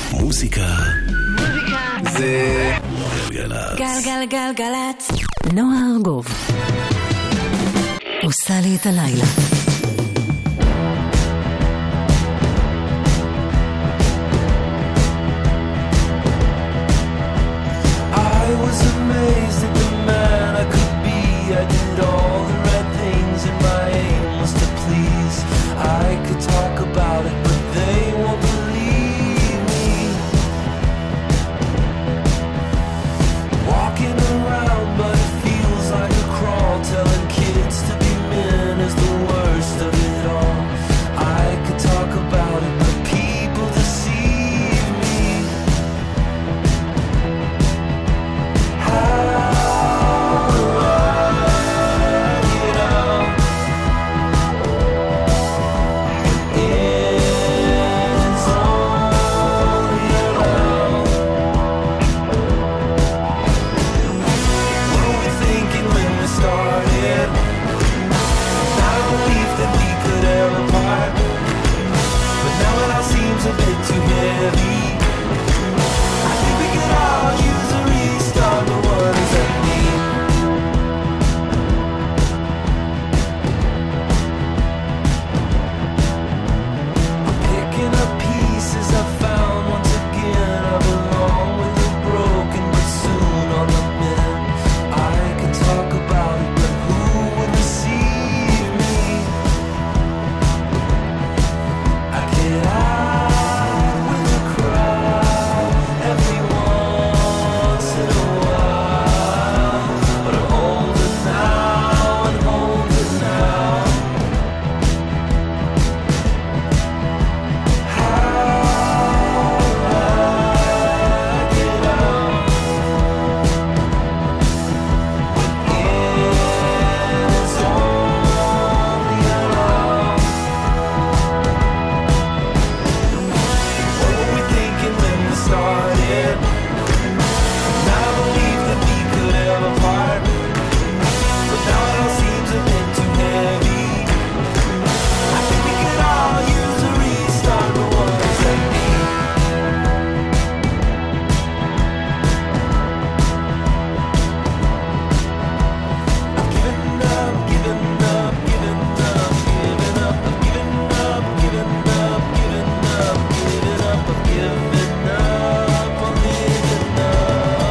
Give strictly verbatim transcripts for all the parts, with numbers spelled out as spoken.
מוזיקה זה גלגלצ. גלגלגלגלצ. נועה ארגוב עושה לי את הלילה. I was amazed at the man I could be. I did all the right things and my aim was to please. I could talk about it but they won't believe me. Walking around but it feels like a crawl. Telling kids to be men is the worst of it all. I could talk about it but people deceive me. How do I get out? It's only around. What were we thinking when we started? Not a belief that we could ever part. But now it all seems a bit too heavy. I think we could all use a restart, but what does that mean? I'm picking up pieces I found once again. I belong with the broken, but soon on the mend. I could talk about it, but who would receive me? I get out with a crowd every once in a while, but I'm older now and older now. How do I get out? It's only around. What were we thinking when we started? Not a belief that we could ever part. But now it all seems a bit too heavy. I think we could all use a restart, but what does that mean? I've given up, given up, given up, given up. I've given up, given up, given up, given up. I've given up on living up.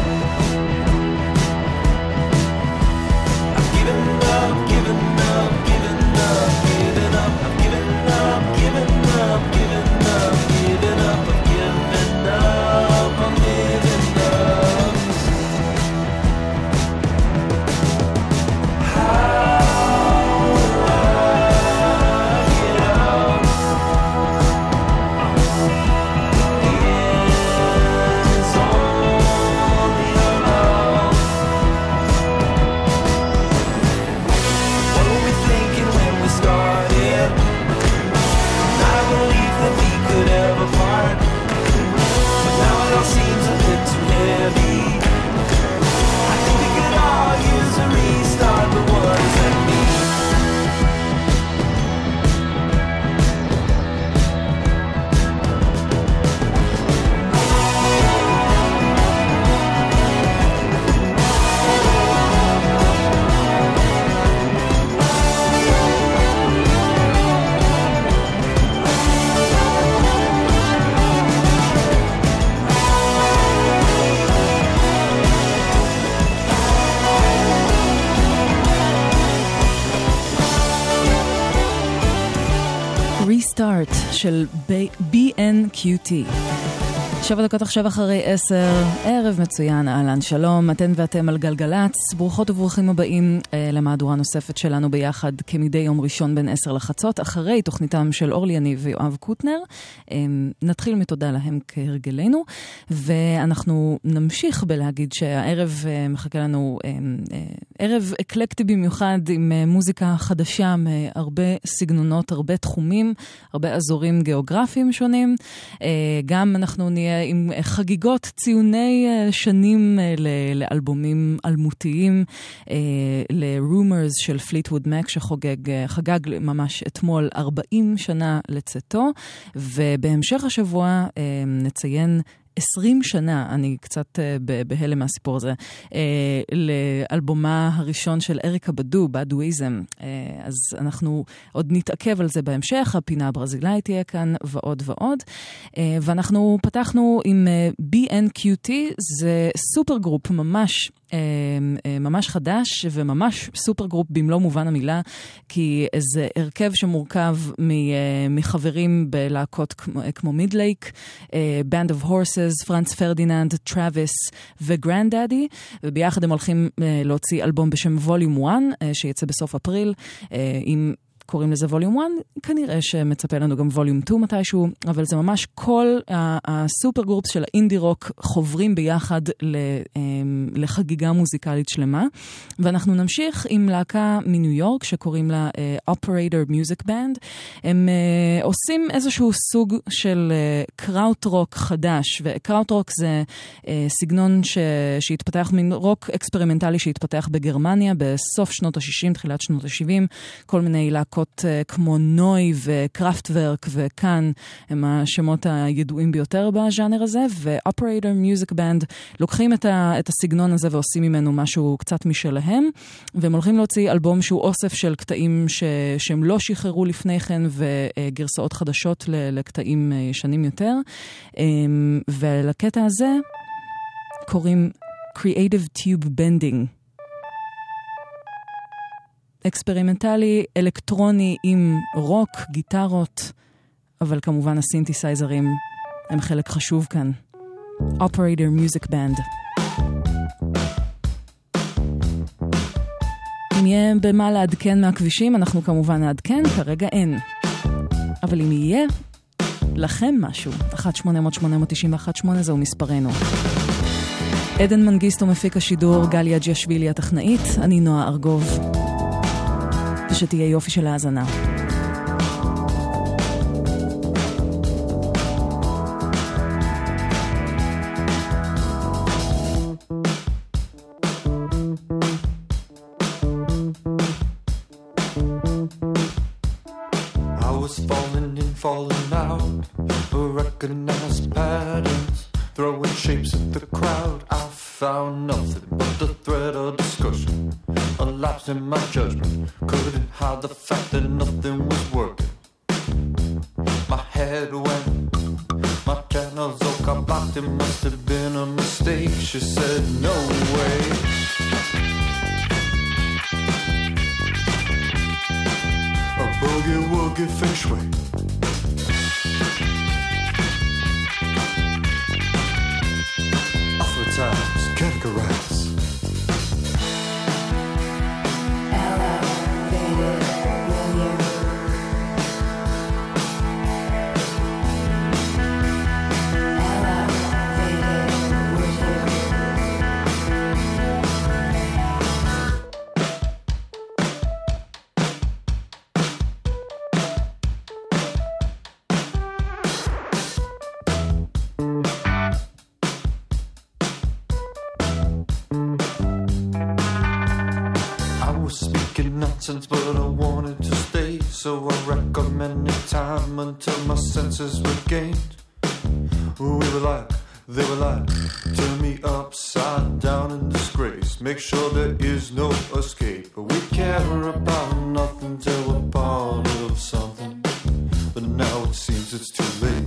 I've given up, given up, given up, given up. I've given up, given up, given up, given up. I've given up on living up. How do I get out? It's only around. What were we thinking when we started? Not a belief that we could ever part. But now it all seems a bit too heavy. I think we could all use a restart, but what does that mean? Restart של בי אן קיו טי. שבע דקות עכשיו אחרי עשר, ערב מצוין, אהלן, שלום, אתן ואתם על גלגלצ, ברוכות וברוכים הבאים אה, למהדורה נוספת שלנו ביחד כמדי יום ראשון בין עשר לחצות, אחרי תוכניתם של אורלי יניב ויואב קוטנר. אה, נתחיל מתודה להם כהרגלנו, ואנחנו נמשיך בלהגיד שהערב אה, מחכה לנו אה, אה, ערב אקלקטי במיוחד עם אה, מוזיקה חדשה מהרבה סגנונות, הרבה תחומים, הרבה אזורים גיאוגרפיים שונים. אה, גם אנחנו נהיה עם חגיגות ציוני שנים לאלבומים אלמותיים, ל-Rumors של פליטווד מק שחוגג, חגג ממש אתמול ארבעים שנה לצאתו, ובהמשך השבוע נציין עשרים שנה, אני קצת בהלם מהסיפור הזה, לאלבומה הראשון של אריקה בדו, בדואיזם. אז אנחנו עוד נתעכב על זה בהמשך, הפינה הברזילאית תהיה כאן ועוד ועוד. ואנחנו פתחנו עם בי אן קיו טי, זה סופר גרופ ממש ממש חדש וממש סופר גרופ במלוא מובן המילה, כי זה הרכב שמורכב מחברים בלהקות כמו מידלייק, Band of Horses, פרנץ פרדיננד, טראביס וגרנדאדי, וביחד הם הולכים להוציא אלבום בשם ווליום אחת, שיצא בסוף אפריל, עם קוראים לזה ווליום אחת, כנראה שמצפה לנו גם ווליום שתיים מתישהו, אבל זה ממש כל הסופר גרופס של האינדי רוק חוברים ביחד לחגיגה מוזיקלית שלמה, ואנחנו נמשיך עם להקה מניו יורק שקוראים לה Operator Music Band. הם עושים איזשהו סוג של קראוט רוק חדש, וקראוט רוק זה סגנון שהתפתח, מין רוק אקספרימנטלי שהתפתח בגרמניה בסוף שנות ה-שישים, תחילת שנות ה-שבעים, כל מיני להקות כמו נוי וקראפטוורק וכאן הם השמות הידועים ביותר בז'אנר הזה, ו-Operator Music Band לוקחים את, ה- את הסגנון הזה ועושים ממנו משהו קצת משלהם, והם הולכים להוציא אלבום שהוא אוסף של קטעים ש- שהם לא שחררו לפני כן, וגרסאות חדשות ל- לקטעים ישנים יותר, ולקטע הזה קוראים Creative Tube Bending. אקספרימנטלי, אלקטרוני עם רוק, גיטרות, אבל כמובן הסינתסייזרים הם חלק חשוב כאן. Operator Music Band. אם יהיה במה לעדכן מהכבישים, אנחנו כמובן נעדכן, כרגע אין. אבל אם יהיה לכם משהו, אחת שמונה אפס אפס שמונה תשע אחת שמונה זהו מספרנו. עדן מנגיסטו מפיק השידור, גליה ג'יאשווילי הטכנאית, אני נועה ארגוב. שתהיה יופי של האזנה. I was falling in, falling out, recognized patterns, throwing shapes at the crowd. I found nothing but the thread of discussion, a lapse in my judgment, couldn't hide the fact that nothing was working. My head went, my channels all got blocked, it must have been a mistake. She said no way. A boogie woogie feng shui. Times categorize. But I wanted to stay, so I recommended time until my senses were gained. We were like, they were like, turn me upside down in disgrace, make sure there is no escape. We care about nothing till we're part of something, but now it seems it's too late.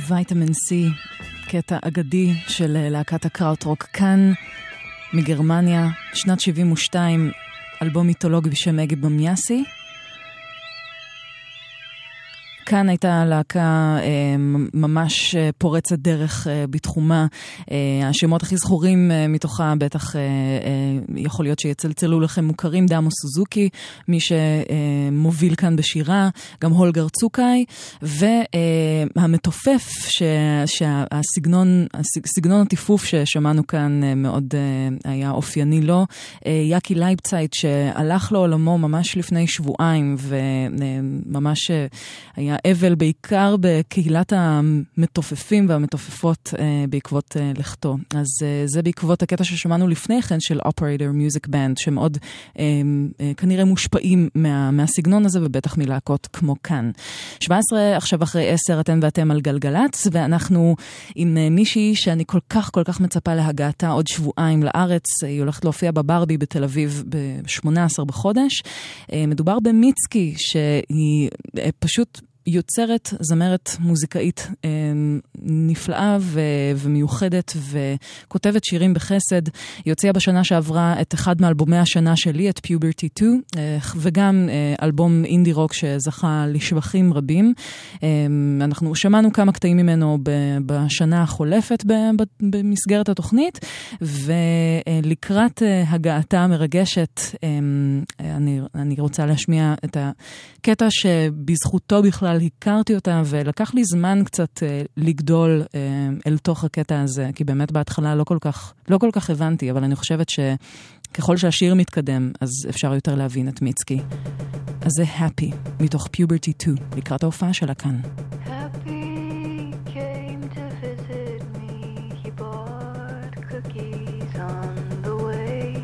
וייטמין סי, קטע אגדי של להקת הקראוטרוק כאן מגרמניה, שנת שבעים ושתיים, אלבום מיתולוגי בשם אגי במיאסי. כאן הייתה להקה אה, ממש פורצת דרך אה, בתחומה. אה, השמות הכי זכורים אה, מתוכה בטח אה, אה, יכול להיות שיצלצלו לכם מוכרים, דאמו סוזוקי, מי שמוביל כאן בשירה, גם הולגר צוקאי, והמתופף שה, שהסגנון, הסגנון הטיפוף ששמענו כאן אה, מאוד אה, היה אופייני לו, אה, יקי לייבצייט שהלך לעולמו ממש לפני שבועיים וממש אה, היה אבל בעיקר בקהילת המתופפים והמתופפות אה, בעקבות אה, לכתו. אז אה, זה בעקבות הקטע ששמענו לפני כן של Operator Music Band, שמאוד אה, אה, כנראה מושפעים מה, מהסגנון הזה ובטח מלהקות כמו כאן. שבע עשרה עכשיו אחרי עשר, אתן ואתם על גלגלץ, ואנחנו עם אה, מישהי שאני כל כך כל כך מצפה להגעתה עוד שבועיים לארץ. היא הולכת להופיע בברבי בתל אביב ב-שמונה עשר בחודש. אה, מדובר במיצקי שהיא אה, פשוט יוצרת, זמרת מוזיקאית אה, נפלאה ו- ומיוחדת וכותבת שירים בחסד. היא הוציאה בשנה שעברה את אחד מאלבומי השנה שלי, את Puberty שתיים, אה, וגם אה, אלבום אינדי רוק שזכה לשבחים רבים. אה, אנחנו שמענו כמה קטעים ממנו ב- בשנה החולפת ב- ב- במסגרת התוכנית, ולקראת אה, הגעתה המרגשת, אה, אני, אני רוצה להשמיע את הקטע שבזכותו בכלל הכרתי אותה, ולקח לי זמן קצת אה, לגדול אה, אל תוך הקטע הזה, כי באמת בהתחלה לא כל כך, לא כל כך הבנתי, אבל אני חושבת שככל שהשיר מתקדם, אז אפשר יותר להבין את מיצקי. אז זה Happy, מתוך Puberty שתיים, לקראת ההופעה שלה כאן. Happy came to visit me, he bought cookies on the way.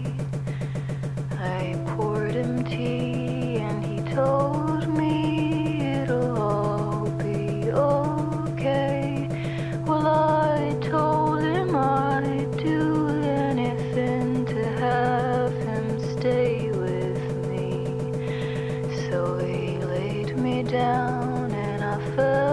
I poured him tea and he told me it'll all be okay. Well, I told him I'd do anything to have him stay with me. So he laid me down and I fell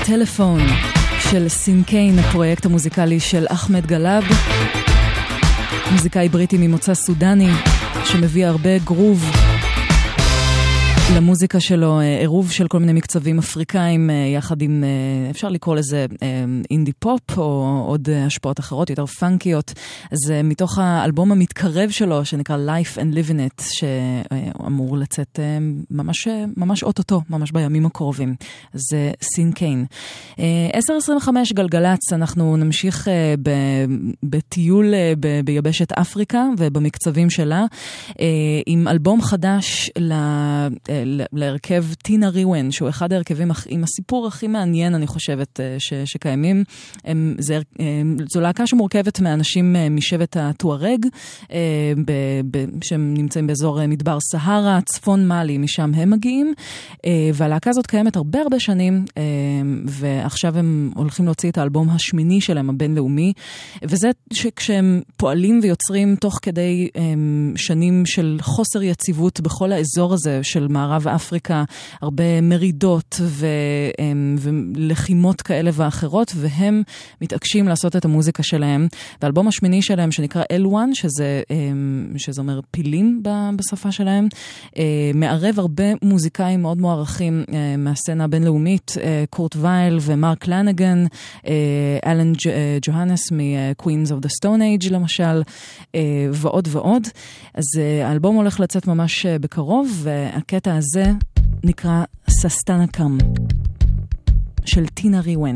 טלפון של סינקיין, הפרויקט המוזיקלי של אחמד גלאב, מוזיקאי בריטי ממוצא סודני שמביא הרבה גרוב למוזיקה שלו, עירוב של כל מיני מקצבים אפריקאים יחד עם, אפשר לקרוא לזה אינדי פופ או עוד השפעות אחרות יותר פאנקיות. אז מתוך האלבום המתקרב שלו שנקרא Life and Living It, שאמור לצאת ממש ממש אוטוטו, ממש בימים הקרובים. זה סינקיין. עשר עשרים וחמש גלגלץ, אנחנו נמשיך בטיול ביבשת אפריקה ובמקצבים שלה עם אלבום חדש ל להרכב טינה ריוון, שהוא אחד ההרכבים עם הסיפור הכי מעניין, אני חושבת, ש, שקיימים. הם, זה, זו להקה שמורכבת מאנשים משבט הטוארג, ב, ב, שהם נמצאים באזור מדבר סהרה, צפון מאלי, משם הם מגיעים, והלהקה הזאת קיימת הרבה הרבה שנים, ועכשיו הם הולכים להוציא את האלבום השמיני שלהם, הבינלאומי, וזה שכשהם פועלים ויוצרים תוך כדי שנים של חוסר יציבות בכל האזור הזה של מערב אפריקה, הרבה מרידות ו, ולחימות כאלה ואחרות, והם מתעקשים לעשות את המוזיקה שלהם. והאלבום השמיני שלהם שנקרא אל וואן, שזה, שזה אומר פילים בשפה שלהם, מערב הרבה מוזיקאים מאוד מוערכים מהסצנה הבינלאומית, קורט וייל ומרק לנגן, אלן ג'והנס מ-Queens of the Stone Age למשל, ועוד ועוד. אז האלבום הולך לצאת ממש בקרוב, והקטע הזה נקרא ססטנה קאם של טינה ריוון.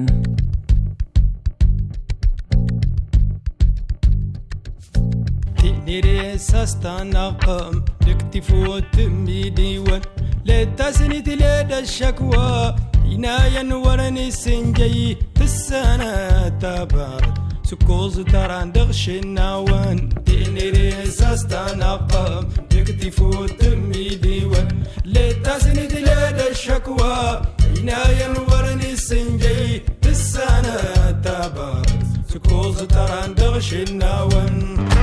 تنيري سستانا قام تكتفو تمي ديوان لتسني تلاد الشكوى عنايا ورني سنجي تسانا تبارد سكوز تران دغش النوان تنيري سستانا قام تكتفو تمي ديوان لتسني تلاد الشكوى عنايا ورني سنجي تسانا تبارد سكوز تران دغش النوان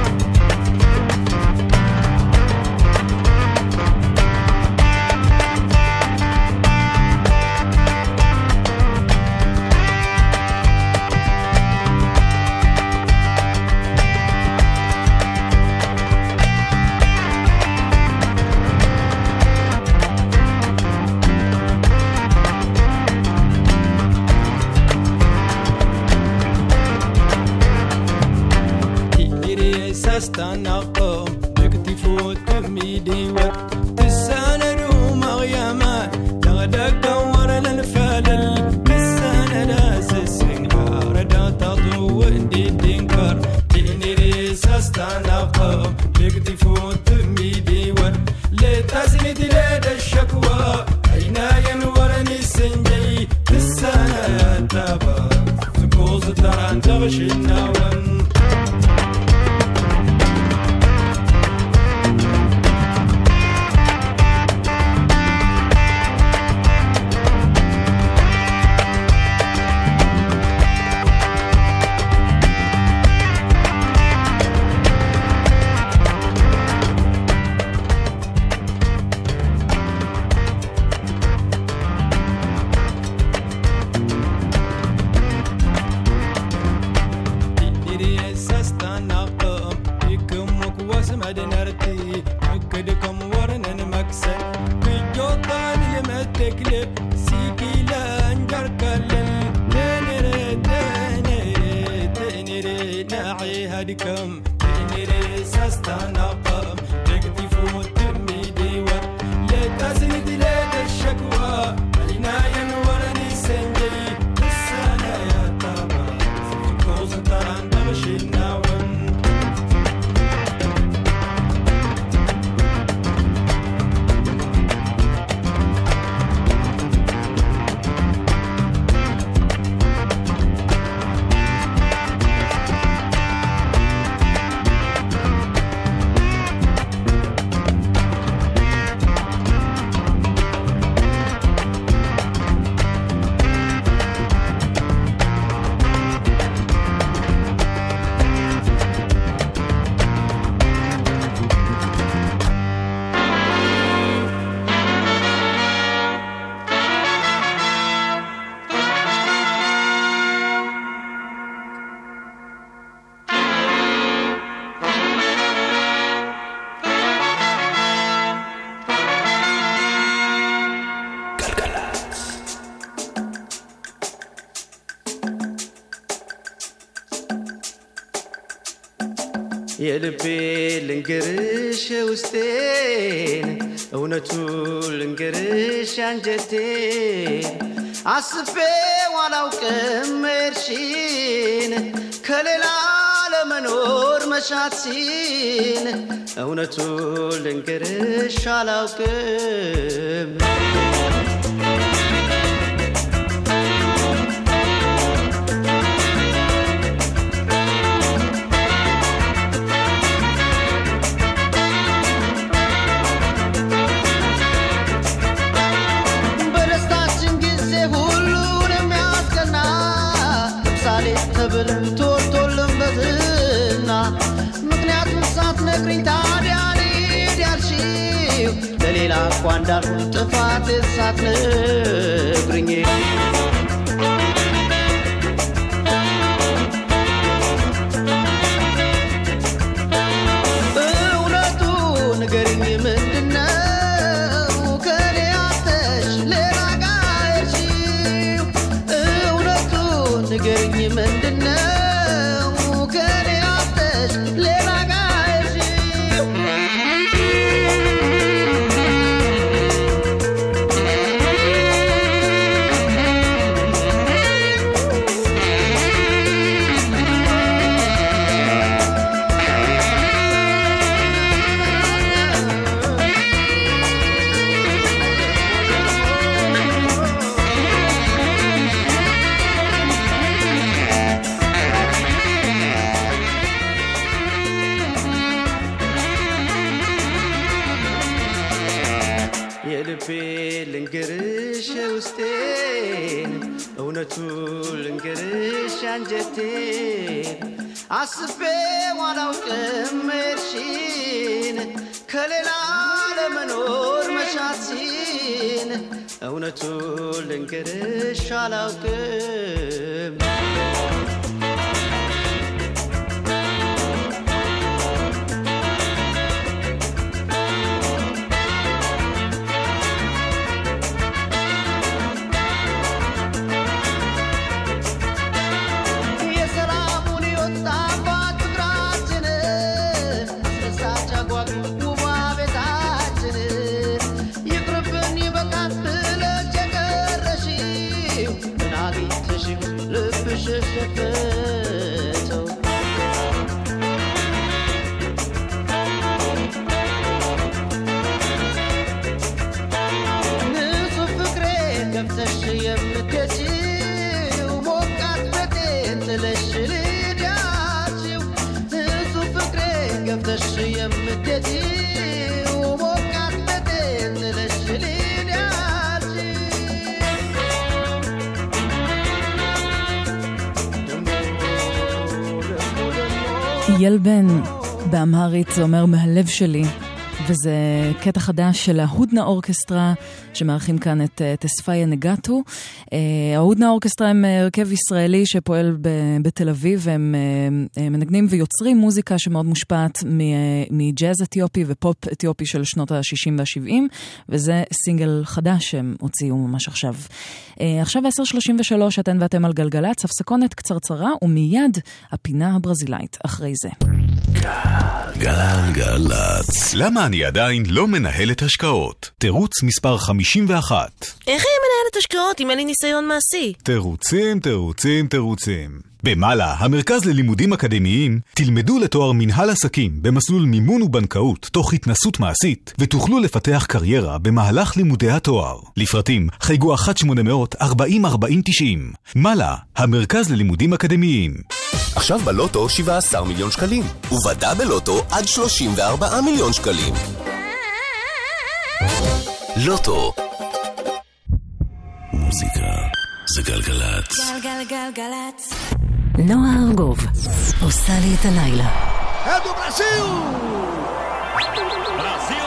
استنى قوم نكتفو تمي ديوان تساندو مغيما تغدق دور للفلل تساند اسسين ردا تضو اندي دينكر تنيريس استنى قوم نكتفو تمي ديوان لتسند لدى الشكوى عينايا ورني سنجي تساند تبا سكوز تران تغشي النوان የልቤ ልንገርሽ ውስጤን እውነቱ ልንገርሽ አንጀቴን አስቤው አላውቅም እርሺን ከሌላ ለመኖር መሻትሲን እውነቱ ልንገርሽ አላውቅም ቶልቶልም በዝና ምክንያቱም ሳትነግሪኝ ታዲያ ልሂድ ያልሽው ለሌላ እኮ እንዳልሆን ጥፋት ሳትነግሪኝ እውነቱ ንገሪኝ ምንድነው ከኔ አተሽ ሌላ ጋር ሄድሽው እውነቱ ንገሪኝ ምንድነው ከኔ አተሽ ሌላ ጋር ሄድሽው ልንገርሽ ውስጤን እውነቱ ልንገርሽ አንጀቴን አስቤው አላውቅም እርሺን ከሌላ ለመኖር መሻትሲን እውነቱ ልንገርሽ አላውቅም ילבן באמהרית זה אומר מהלב שלי, וזה קטע חדש של ההודנה אורקסטרה שמארחים כאן את תספיה נגטו. ההודנה אורקסטרה הם הרכב ישראלי שפועל בתל אביב, והם מנגנים ויוצרים מוזיקה שמאוד מושפעת מג'אז אתיופי ופופ אתיופי של שנות ה-שישים וה-שבעים, וזה סינגל חדש שהם הוציאו ממש עכשיו. עכשיו עשר שלושים ושלוש, אתן ואתם על גלגלץ, הפסקונת קצרצרה ומיד הפינה הברזילאית אחרי זה. גלגלץ. למה אני עדיין לא מנהלת השקעות? תירוץ מספר חמישים ואחת. איך היא מנהלת השקעות אם אין לי ניסיון מעשי? תירוצים, תירוצים, תירוצים. במעלה, המרכז ללימודים אקדמיים, תלמדו לתואר מנהל עסקים במסלול מימון ובנקאות תוך התנסות מעשית, ותוכלו לפתח קריירה במהלך לימודי התואר. לפרטים, חייגו אחת שמונה אפס אפס ארבעים ארבעים תשעים. מעלה, המרכז ללימודים אקדמיים. עכשיו בלוטו שבעה עשר מיליון שקלים, ובדה בלוטו עד שלושים וארבעה מיליון שקלים. לוטו. מוזיקה זה גלגלץ. גלגלגלגלץ. נועה ארגוב עושה לי את הלילה. אדו ברזיל! ברזיל!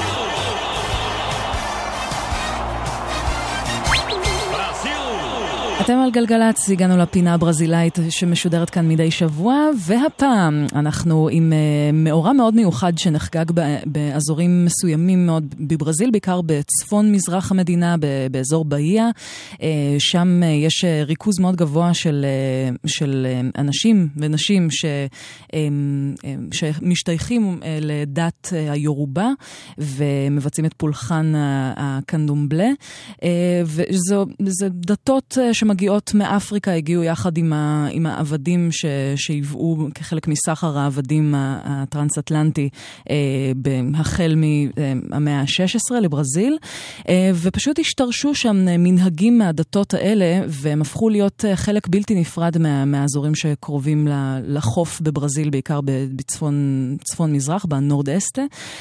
ברזיל! אתם על גלגלץ, הגענו לפינה הברזילאית שמשודרת כאן מדי שבוע, והפעם אנחנו עם מאורע מאוד מיוחד שנחגג באזורים מסוימים מאוד בברזיל, בעיקר בצפון מזרח המדינה, באזור באיה. שם יש ריכוז מאוד גבוה של, של אנשים ונשים ש, שמשתייכים לדת היורובה ומבצעים את פולחן הקנדומבלה. וזו זה דתות שמגיעות מאפריקה, הגיעו יחד עם, ה, עם העבדים ש, שהיוו כחלק מסחר העבדים הטרנס-אטלנטי החל מהמאה ה-שש עשרה לברזיל, ופשוט השתרשו שם מנהגים מהדתות האלה, והם הפכו להיות חלק בלתי נפרד מה, מהאזורים שקרובים לחוף בברזיל, בעיקר בצפון צפון מזרח, בנורד-אסטה.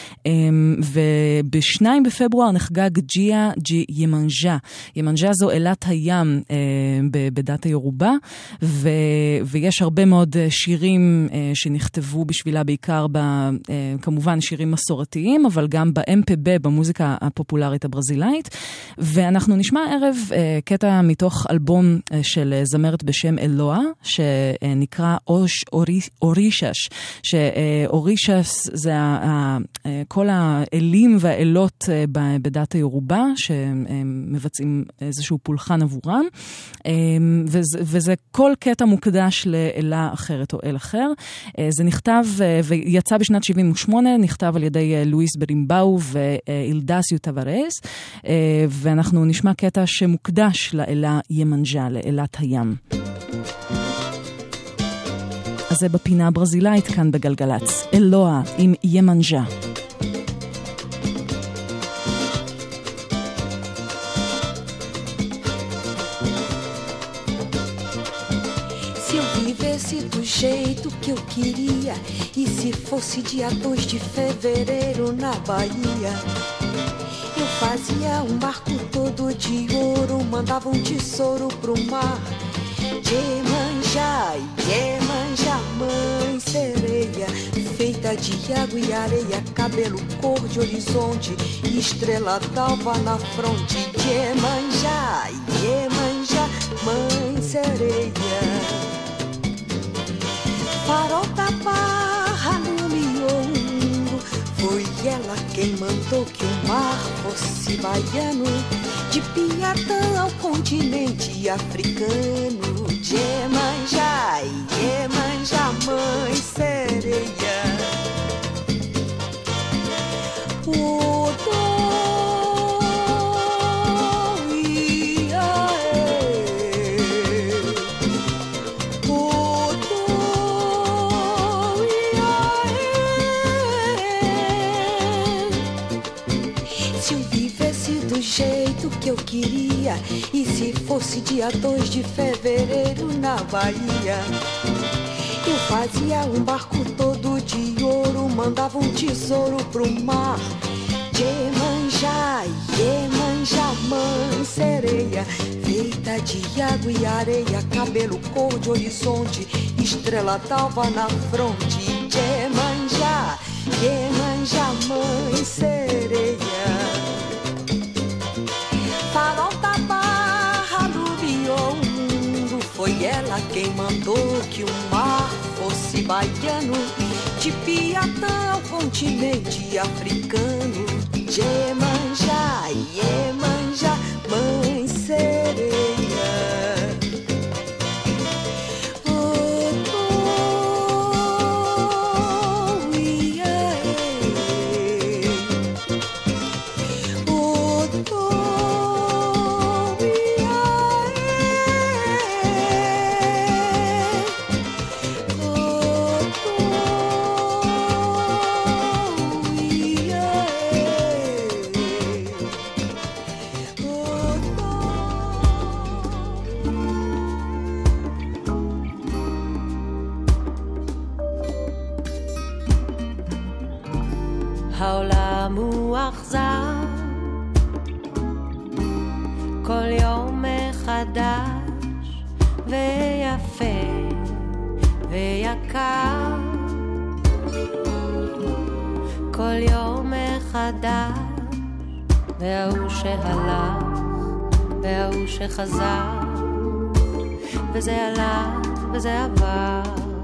ובשניים בפברואר נחגג ג'יה ג'י ימנג'ה. ימנג'ה זו אלת הים בדת היורובה, ו, ויש הרבה מאוד שירים שנכתבו בשבילה, בעיקר ב, כמובן שירים מסורתיים, אבל גם ב-אם פי בי, במוזיקה הפופולרית הברזילאית. ואנחנו נשמע ערב קטע מתוך אלבום של זמרת בשם אלואה, שנקרא אוש אורישש, שאורישש זה כל האלים והאלות בדת היורובה, שמבצעים איזשהו פולחן עבורם, וזה, וזה כל קטע מוקדש לאלה אחרת או אל אחר. זה נכתב ויצא בשנת שבעים ושמונה, נכתב על ידי לואיס ברימבאו ואילדסיו טוורס, ואנחנו נשמע קטע שמוקדש לאלה ימנג'ה, לאלת הים. אז זה בפינה הברזילאית כאן בגלגלץ, אלואה עם ימנג'ה. Do jeito que eu queria, e se fosse dia dois de fevereiro na Bahia, eu fazia um barco todo de ouro, mandava um tesouro pro mar. Iemanjá, Iemanjá, mãe sereia, feita de água e areia, cabelo cor de horizonte, estrela d'alva na fronte. Iemanjá, Iemanjá, mãe sereia. Farol da Barra no Miolo, foi ela quem mandou que o mar fosse baiano, de Piatã ao continente africano. Iemanjá, Iemanjá, mãe sereia. O jeito que eu queria, e se fosse dia dois de fevereiro na Bahia, eu fazia um barco todo de ouro, mandava um tesouro pro mar. Iemanjá, Iemanjá, mãe sereia, feita de água e areia, cabelo cor de horizonte, estrela d'alva na fronte. Iemanjá, Iemanjá, mãe sereia. Farol da Barra aluviou o mundo, foi ela quem mandou que o mar fosse baiano, de Piatã ao continente africano. Iemanjá, Iemanjá, mãe sereia. העולם הוא אכזר, כל יום מחדש, ויפה ויקר, כל יום מחדש, והוא שהלך והוא שחזר, וזה עלה וזה עבר,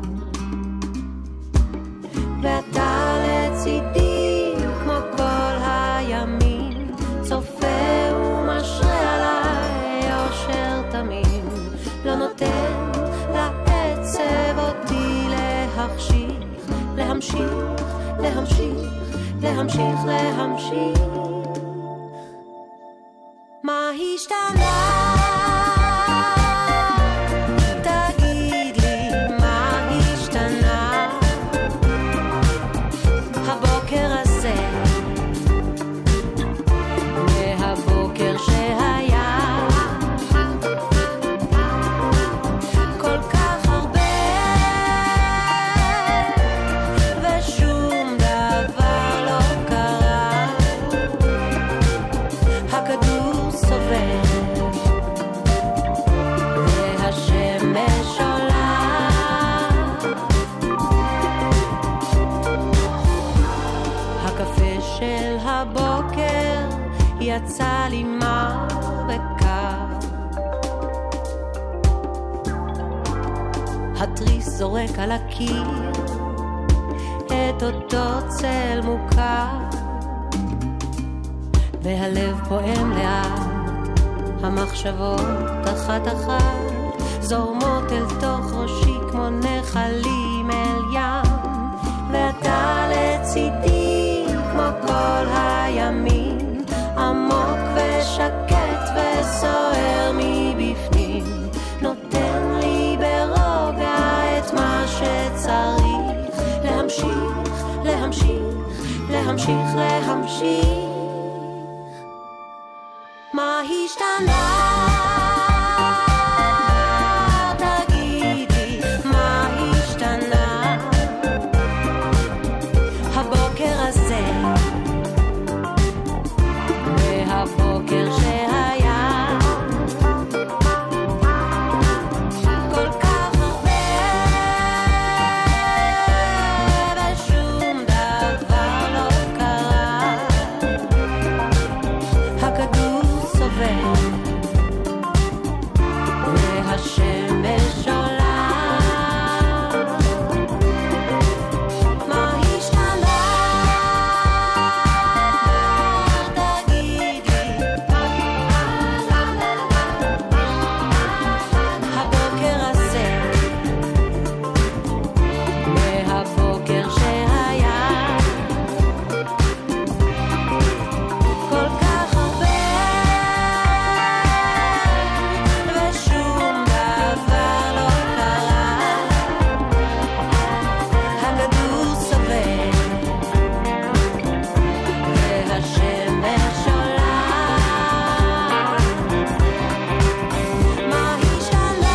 ואתה לצידי כמו כל הימים, צופה ומשרה עליי אושר תמים, לא נותן לעצב אותי להחשיך, להמשיך, להמשיך, להמשיך, להמשיך. מה השתנה? תגיד לי מה השתנה הבוקר הזה מהבוקר שהיה, כל כך הרבה ושום דבר לא קרה, הכדור סובב והשמש עולה, הקפה של הבוקר יצא לי מר וקר, התריס זורק על הקיר את אותו צל מוכר, והלב פועם לאט, המחשבות אחת אחת זורמות אל תוך ראשי כמו נחלים אל ים, ואתה לצידי כמו כל הימים, עמוק ושקט וסוער מבפנים, נותן לי ברוגע את מה שצריך, להמשיך, להמשיך, להמשיך, להמשיך. מה השתנה? תגידי מה השתנה הבוקר הזה מהבוקר שהיה, כל כך הרבה ושום דבר לא קרה, הכדור סובב והשמש עולה, מה השתנה? תגידי הבוקר הזה מהבוקר שהיה, כל כך הרבה ושום דבר לא קרה, הכדור סובב והשמש עולה, מה השתנה?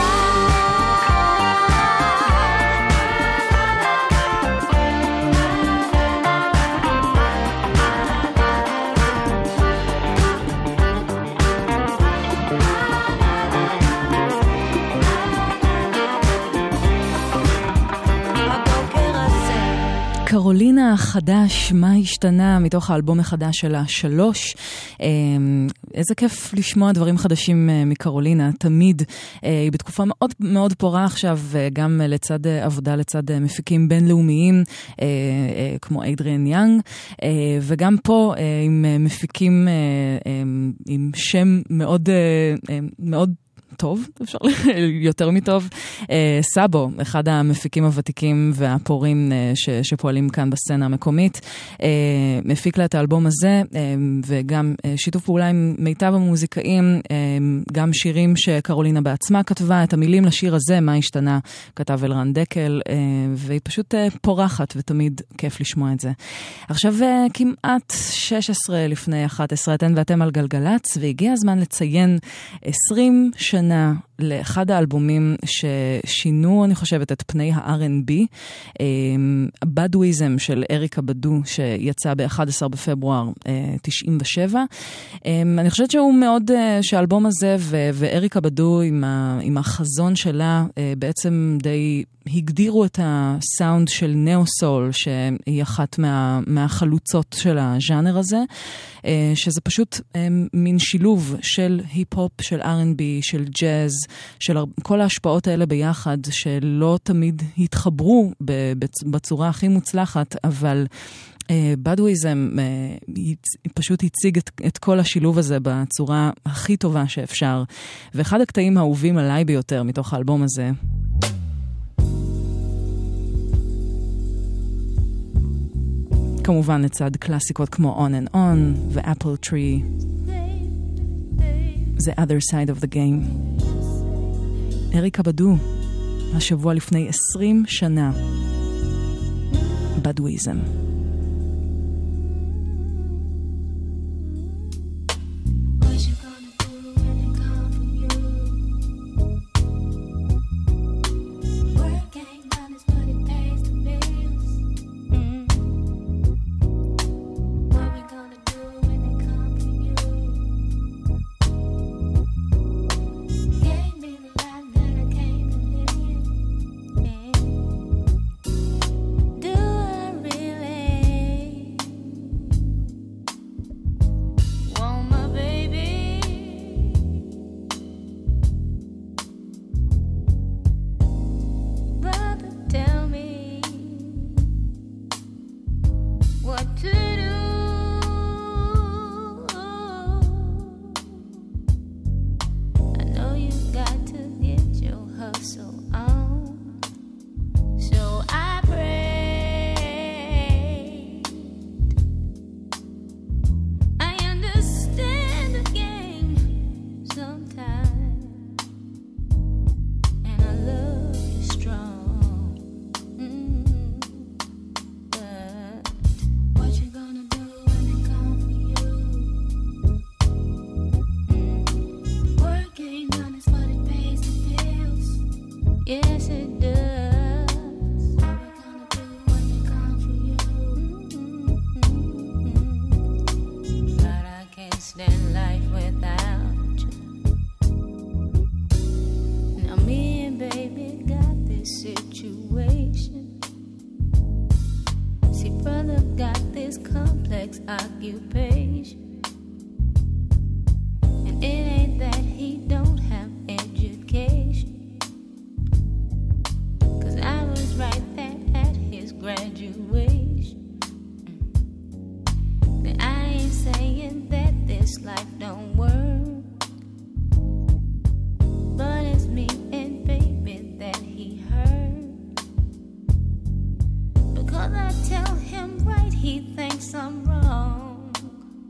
הבוקר הזה קרולינה החדש, מה השתנה, מתוך האלבום החדש שלה, שלוש. איזה כיף לשמוע דברים חדשים מקרולינה, תמיד. היא בתקופה מאוד מאוד פורה עכשיו, גם לצד עבודה, לצד מפיקים בינלאומיים, כמו אדריאן יאנג, וגם פה עם מפיקים עם שם מאוד מאוד טוב, אפשר יותר מטוב. סאבו, אחד המפיקים הוותיקים והפורים ש, שפועלים כאן בסצנה המקומית, מפיק לה את האלבום הזה, וגם שיתוף פעולה עם מיטב המוזיקאים, גם שירים שקרולינה בעצמה כתבה, את המילים לשיר הזה, מה השתנה, כתב אלרן דקל, והיא פשוט פורחת, ותמיד כיף לשמוע את זה. עכשיו כמעט שש עשרה לפני אחת עשרה, אתן ואתם על גלגלץ, והגיע הזמן לציין עשרים שנה לאחד האלבומים ששינו, אני חושבת, את פני ה-אר אנד בי, בדואיזם של אריקה בדו, שיצא ב-אחד עשר בפברואר תשעים ושבע. אני חושבת שהוא מאוד, שהאלבום הזה ואריקה בדו עם, ה, עם החזון שלה, בעצם די הגדירו את הסאונד של נאו-סול, שהיא אחת מה, מהחלוצות של הז'אנר הזה, שזה פשוט מין שילוב של היפ-הופ, של אר אנד בי, של ג'אז, של כל ההשפעות האלה ביחד, שלא תמיד התחברו בצורה הכי מוצלחת, אבל בדואיזם פשוט הציג את, את כל השילוב הזה בצורה הכי טובה שאפשר. ואחד הקטעים האהובים עליי ביותר מתוך האלבום הזה, כמובן לצד קלאסיקות כמו On and On ו-Apple Tree, The Other Side of the Game. אריקה בדו, השבוע לפני עשרים שנה, בדואיזם. Because I tell him right, he thinks I'm wrong.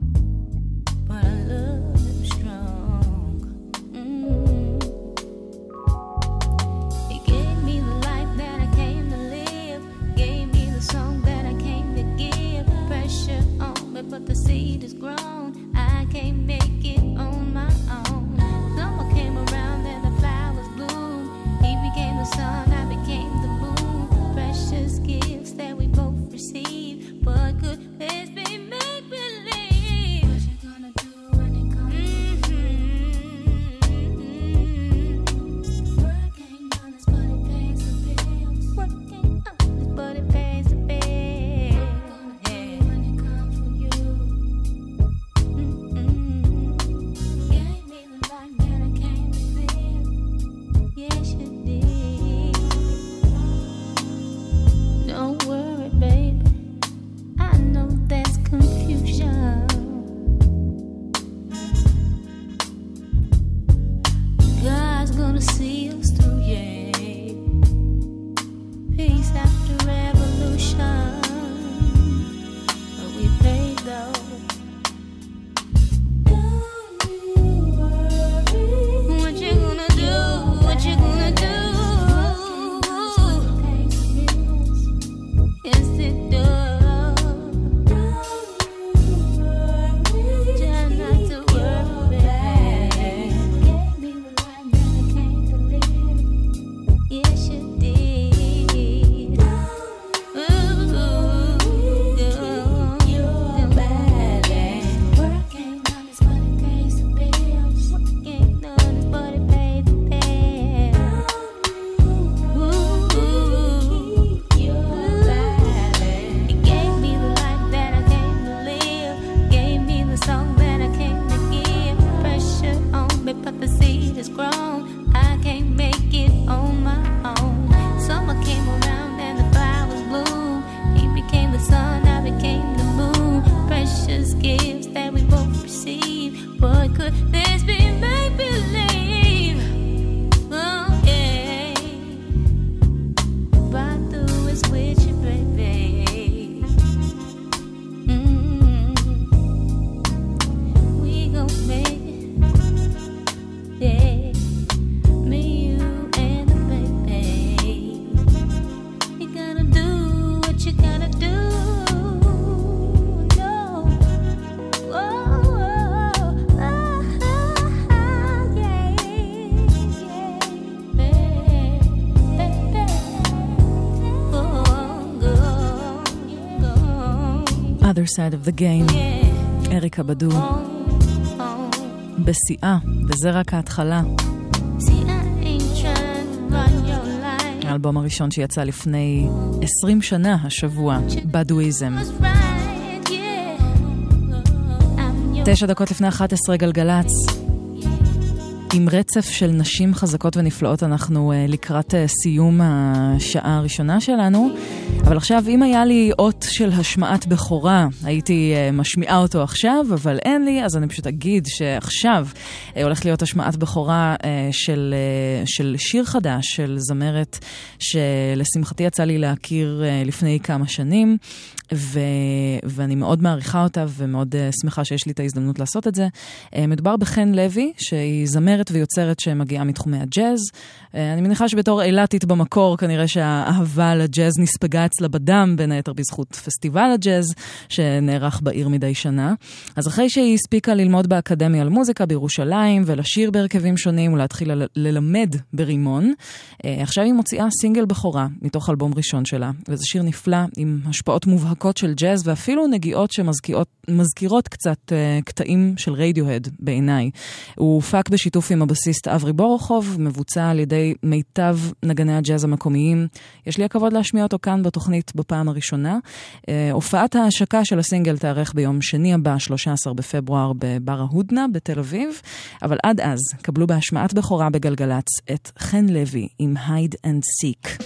Other Side of the Game, אריקה בדו, בשיאה, וזה רק ההתחלה. האלבום הראשון שיצא לפני עשרים שנה השבוע, בדואיזם. תשע דקות לפני אחת עשרה גלגלץ. עם רצף של נשים חזקות ונפלאות אנחנו uh, לקראת uh, סיום השעה הראשונה שלנו. אבל עכשיו, אם היה לי אות של השמעת בכורה, הייתי uh, משמיעה אותו עכשיו, אבל אין לי, אז אני פשוט אגיד שעכשיו uh, הולך להיות השמעת בכורה uh, של, uh, של שיר חדש, של זמרת שלשמחתי יצא לי להכיר uh, לפני כמה שנים, ו... ואני מאוד מעריכה אותה ומאוד uh, שמחה שיש לי את ההזדמנות לעשות את זה. Uh, מדובר בחן לוי, שהיא זמרת ויוצרת שמגיעה מתחומי הג'אז. Uh, אני מניחה שבתור אילתית במקור, כנראה שהאהבה לג'אז נספגה אצלה בדם, בין היתר בזכות פסטיבל הג'אז, שנערך בעיר מדי שנה. אז אחרי שהיא הספיקה ללמוד באקדמיה על מוזיקה בירושלים, ולשיר בהרכבים שונים, ולהתחיל ל- ללמד ברימון, uh, עכשיו היא מוציאה סינגל בכורה, מתוך אלבום ראשון שלה. וזה שיר נפלא, עם השפעות מובהקות של ג'אז, ואפילו נגיעות שמזכירות קצת uh, קטעים של רדיוהד בעיניי. הוא הופק בשיתוף עם הבסיסט אברי בורוכוב, מבוצע על ידי מיטב נגני הג'אז המקומיים. יש לי הכבוד להשמיע אותו כאן בתוכנית בפעם הראשונה. Uh, הופעת ההשקה של הסינגל תארך ביום שני הבא, שלושה עשר בפברואר, בבר ההודנה בתל אביב. אבל עד אז, קבלו בהשמעת בכורה בגלגלץ את חן לוי עם Hide and Seek.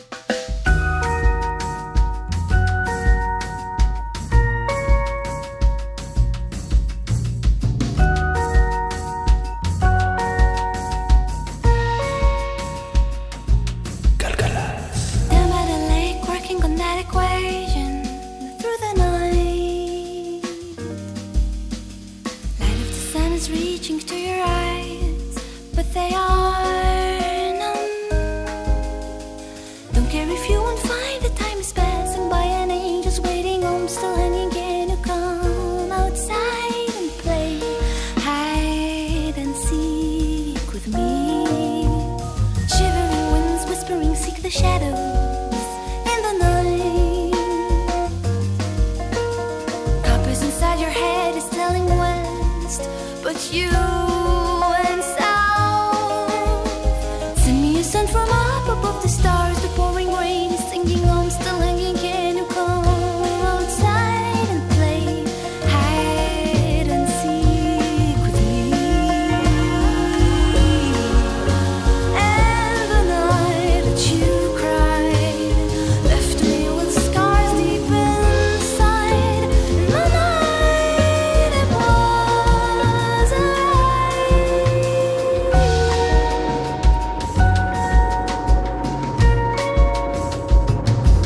They are numb. Don't care if you won't find the time is passing by and angels waiting home still hanging. Can you come outside and play hide and seek with me? Shivering winds whispering seek the shadows in the night. Compass inside your head is telling west, but you from up above the stars, the pouring rain is singing. I'm still hanging. Can you come outside and play hide and seek with me? And the night that you cried left me with scars deep inside. And the night it was alright.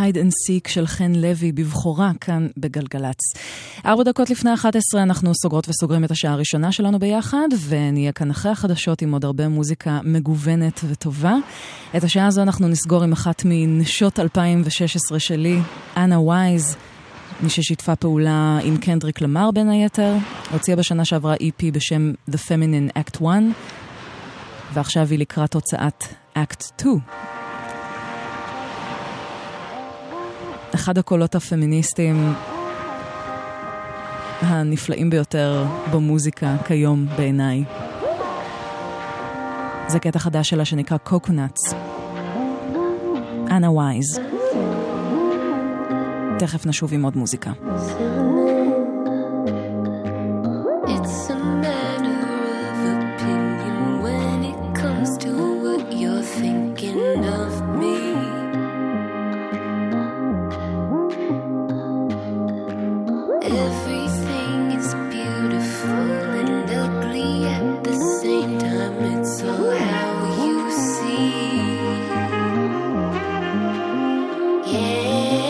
Hide and Seek של חן לוי בבחורה כאן בגלגלץ. ארבע דקות לפני אחת עשרה אנחנו סוגרות וסוגרים את השעה הראשונה שלנו ביחד, ונהיה כאן אחרי החדשות עם עוד הרבה מוזיקה מגוונת וטובה. את השעה הזו אנחנו נסגור עם אחת מנשות אלפיים ושש עשרה שלי, אנה וייז, מי ששיתפה פעולה עם קנדריק למר בין היתר, הוציאה בשנה שעברה E P בשם The Feminine Act one, ועכשיו היא לקראת הוצאת Act two. אחד הקולות הפמיניסטיים הנפלאים ביותר במוזיקה כיום בעיניי. זה קטע חדש שלה שנקרא Coconuts. אנה וייז. תכף נשוב עם עוד מוזיקה. It's a matter of opinion when it comes to what you're thinking of me. Everything is beautiful and ugly at the same time. It's all how you see. Yeah.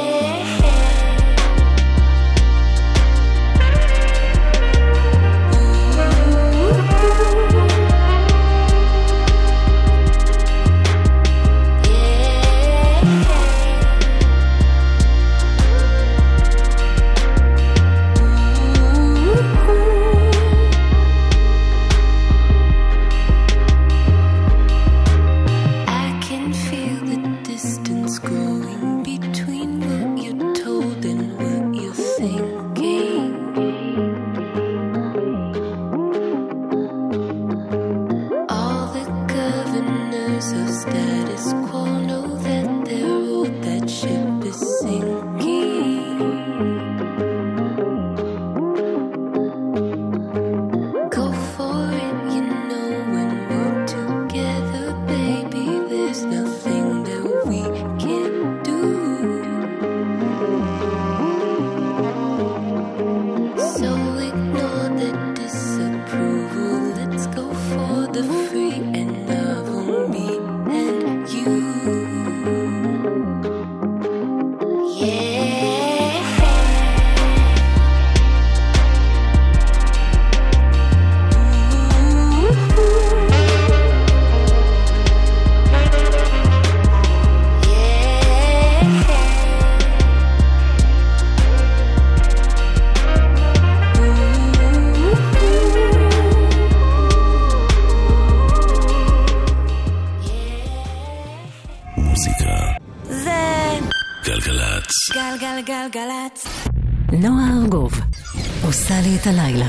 גלגלצ. נועה ארגוב עושה לי את הלילה.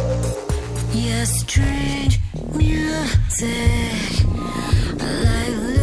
Strange music, like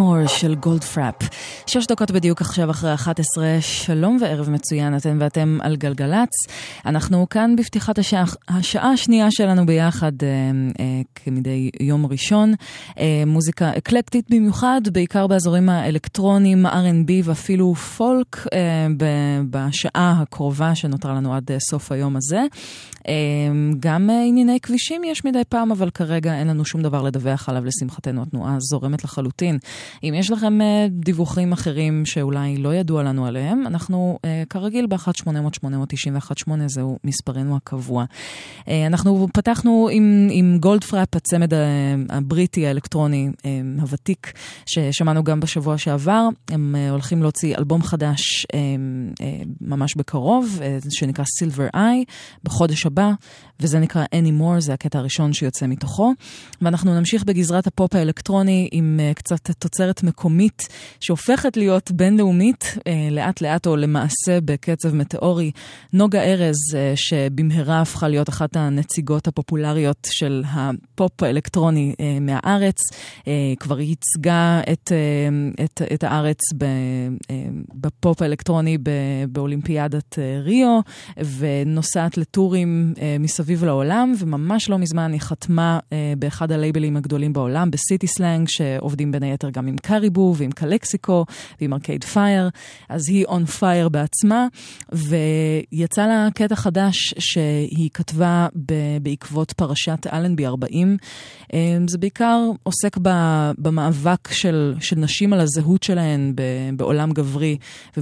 Anymore של גולדפראפ. שש דקות בדיוק עכשיו אחרי אחת עשרה, שלום וערב מצוין, אתם ואתם על גלגלץ. אנחנו כאן בפתיחת השעה, השעה השנייה שלנו ביחד, אה, אה, כמדי יום ראשון. אה, מוזיקה אקלקטית במיוחד, בעיקר באזורים האלקטרונים, אר אנד בי ואפילו פולק, אה, בשעה הקרובה שנותרה לנו עד סוף היום הזה. אה, גם אה, ענייני כבישים יש מדי פעם, אבל כרגע אין לנו שום דבר לדווח עליו, לשמחתנו התנועה זורמת לחלוטין. אם יש לכם דיווחים אחרים שאולי לא ידוע לנו עליהם, אנחנו כרגיל ב-אחת שמונה אפס אפס שמונה תשע אחת שמונה, זהו מספרנו הקבוע. אנחנו פתחנו עם, עם גולדפראפ, הצמד הבריטי האלקטרוני הוותיק, ששמענו גם בשבוע שעבר. הם הולכים להוציא אלבום חדש ממש בקרוב, שנקרא Silver Eye, בחודש הבא, וזה נקרא Anymore, זה הקטע הראשון שיוצא מתוכו. ואנחנו נמשיך בגזרת הפופ האלקטרוני עם uh, קצת תוצרת מקומית שהופכת להיות בינלאומית, uh, לאט לאט או למעשה בקצב מטאורי. נוגה ארז, uh, שבמהרה הפכה להיות אחת הנציגות הפופולריות של הפופ האלקטרוני uh, מהארץ, uh, כבר ייצגה את, uh, את, את הארץ ב, uh, בפופ האלקטרוני ב, באולימפיאדת uh, ריו, ונוסעת לטורים uh, מסביב לעולם, וממש לא מזמן היא חתמה uh, באחד הלייבלים הגדולים בעולם, בסיטי סלנג, שעובדים בין היתר גם עם קריבו ועם קלקסיקו ועם ארקייד פייר. אז היא און פייר בעצמה, ויצא לה קטע חדש שהיא כתבה ב- בעקבות פרשת אלנבי ארבעים. זה בעיקר עוסק ב- במאבק של, של נשים על הזהות שלהן ב- בעולם גברי,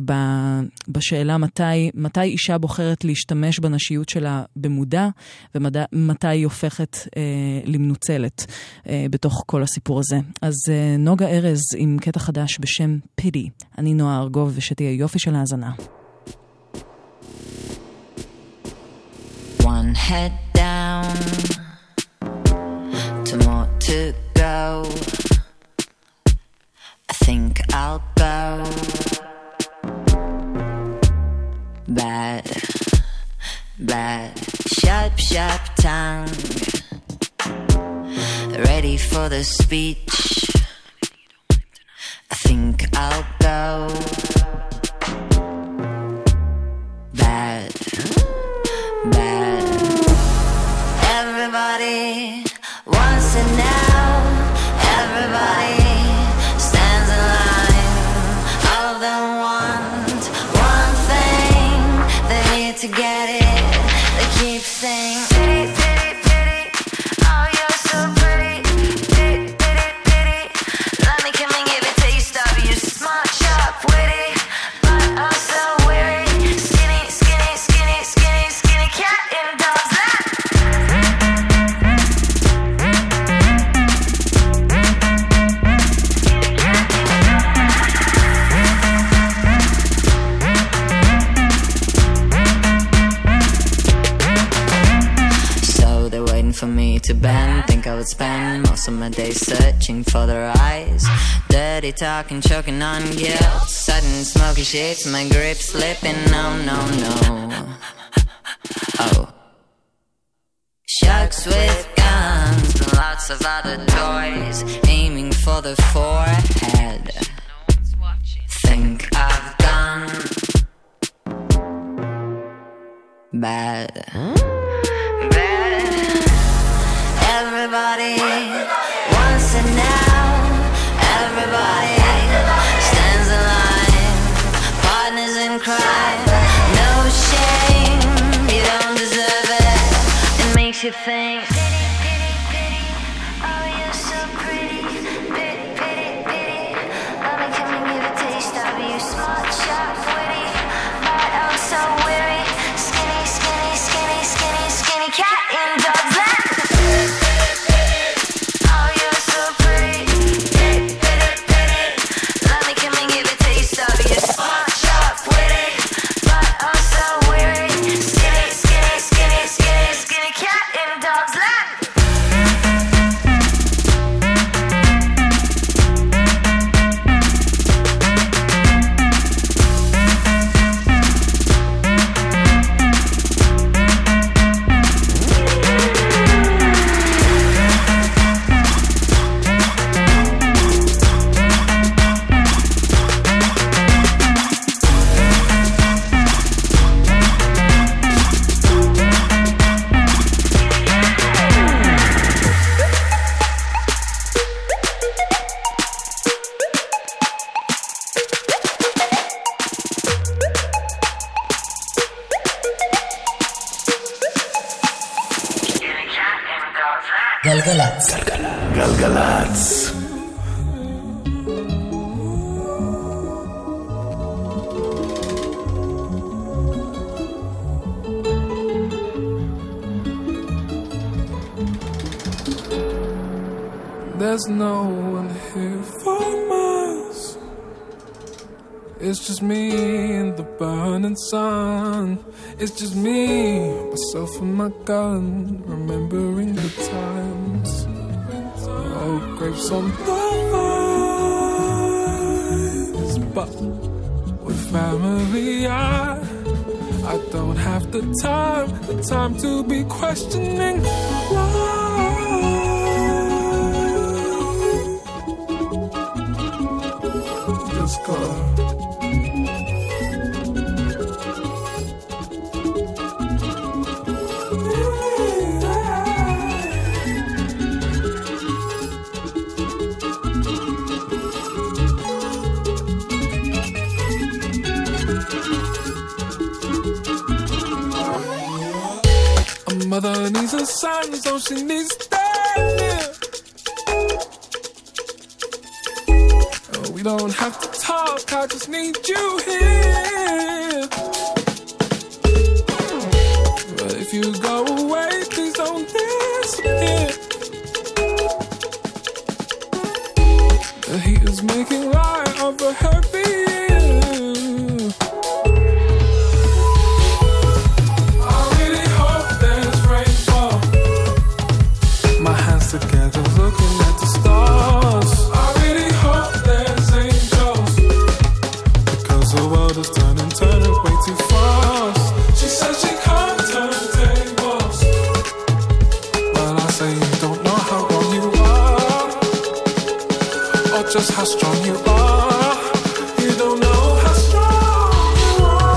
ובשאלה מתי, מתי אישה בוחרת להשתמש בנשיות שלה במודע, ומתי היא הופכת אה, למנוצלת אה, בתוך כל הסיפור הזה. אז אה, נוגה ארז עם קטע חדש בשם פידי. אני נועה ארגוב, ושתהיה יופי של האזנה. One head down, two more to go. I think I'll go. Bad, bad, sharp, sharp tongue. Ready for the speech. I think I'll go. Bad, bad. Everybody wants it now. Everybody stands in line. All of them want one thing. They need to get it. They keep saying pity, pity, pity. Oh, you're so pretty. Pity, pity, pity. Let me come and give a taste of you. Smart, sharp, witty, but also weary. Skinny, skinny, skinny, skinny, skinny cat in dog's lap. So they're waiting for me to bend. Think I would spend most of my days searching for their eyes. Dirty talking, choking on guilt. Sudden smoky shades, my grip slipping. No, no, no. Oh. Sharks with guns and lots of other toys, aiming for the forehead. Think I've done bad. Bad. Everybody wants it now. Everybody stands in line. Partners in crime. No shame. You don't deserve it. It makes you think. Pity, pity, pity. Oh, you're so pretty. Pity, pity, pity. Let me come and give a taste of you. Smart, sharp, witty, but I'm so weary. Skinny, skinny, skinny, skinny, skinny cat in dog's lap. Skinny, skinny, skinny, skinny cat in dog's lap. גלגלץ. גלגלץ. There's no one here for miles. It's just me and the burning sun. It's just me, myself and my gun, remembering the times. Oh, grapes on the vines. But with family, I, I don't have the time, the time to be questioning why. Just go. Mother needs a son, so she needs to stand near. Oh, we don't have to talk, I just need you here. But if you go away, please don't disappear. The heat is making light of a heavy together looking at the stars. I really hope there's angels, because the world is turning, turning way too fast. She says she can't turn tables, but I say you don't know how wrong you are, or just how strong you are. You don't know how strong you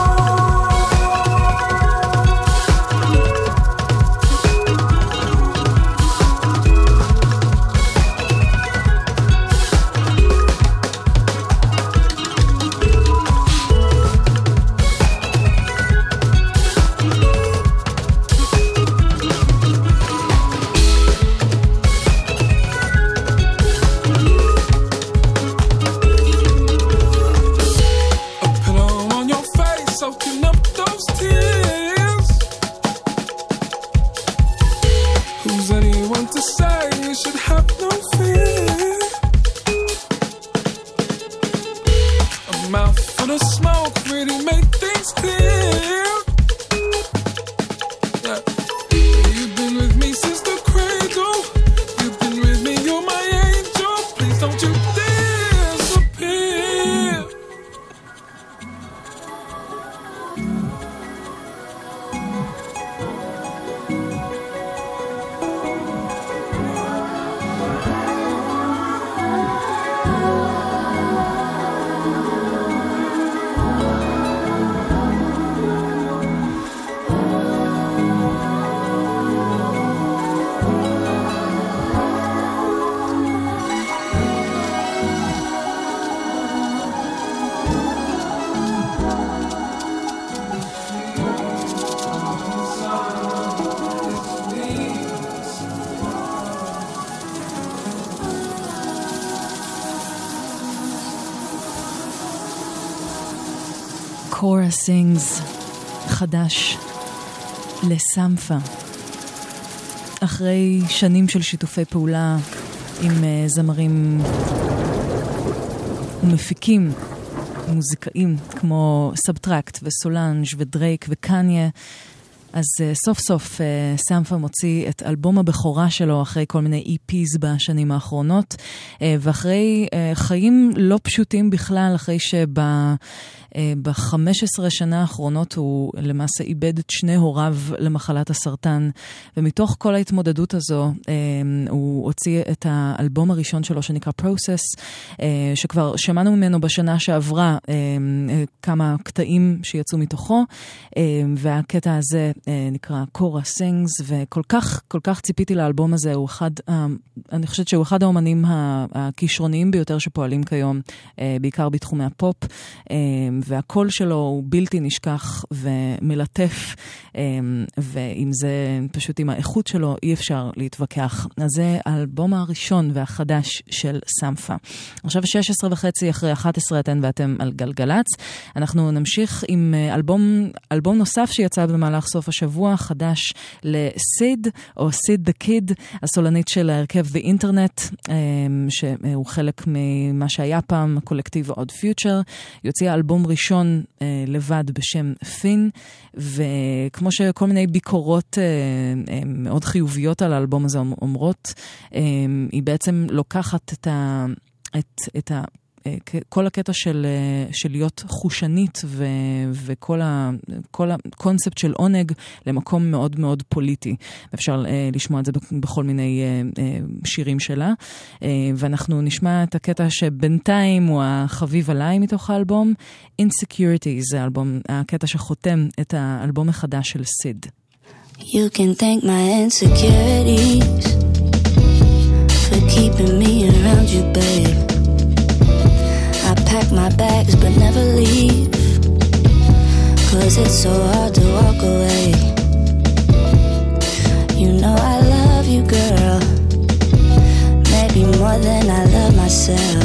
soaking up those tears. Who's anyone to say you should have no fear? A mouth full of smoke really made things clear. Yeah. You've been with me since the cradle. You've been with me, you're my angel. Please don't you disappear. קורה סינגס, חדש, לסמפה. אחרי שנים של שיתופי פעולה עם זמרים ומפיקים, מוזיקאים, כמו סאבטרקט וסולנג' ודרייק וקניה, אז uh, סוף סוף uh, סמפה מוציא את אלבום הבכורה שלו אחרי כל מיני אי פיז בשנים האחרונות, uh, ואחרי uh, חיים לא פשוטים בכלל, אחרי שבה... ב-חמש עשרה שנה האחרונות הוא למעשה איבד את שני הוריו למחלת הסרטן, ומתוך כל ההתמודדות הזו הוא הוציא את האלבום הראשון שלו שנקרא Process, שכבר שמענו ממנו בשנה שעברה כמה קטעים שיצאו מתוכו, והקטע הזה נקרא קורה סינגס, וכל כך כל כך ציפיתי לאלבום הזה. הוא אחד, אני חושבת שהוא אחד האומנים הכישרוניים ביותר שפועלים כיום, בעיקר בתחומי הפופ, והקול שלו הוא בלתי נשכח ומלטף, ועם זה, פשוט עם האיכות שלו, אי אפשר להתווכח. אז זה האלבום הראשון והחדש של סמפה. עכשיו שש עשרה וחצי אחרי אחת עשרה אתן ואתם על גלגלץ. אנחנו נמשיך עם אלבום, אלבום נוסף שיצא במהלך סוף השבוע, חדש לסיד, או סיד דה קיד, הסולנית של ההרכב The Internet, שהוא חלק ממה שהיה פעם, הקולקטיב עוד פיוטר. יוצא אלבום ראשון לבד בשם פין, וכמו שכל מיני ביקורות מאוד חיוביות על האלבום הזה אומרות, היא בעצם לוקחת את ה... את, את ה... כל הקטע של, של להיות חושנית ו, וכל ה, כל הקונספט של עונג למקום מאוד מאוד פוליטי. אפשר לשמוע את זה בכל מיני שירים שלה. ואנחנו נשמע את הקטע שבינתיים הוא החביב עליי מתוך האלבום. Insecurity זה האלבום, הקטע שחותם את האלבום החדש של סיד. You can thank my insecurities for keeping me around you, babe. I pack my bags but never leave, 'cause it's so hard to walk away. You know I love you, girl, maybe more than I love myself.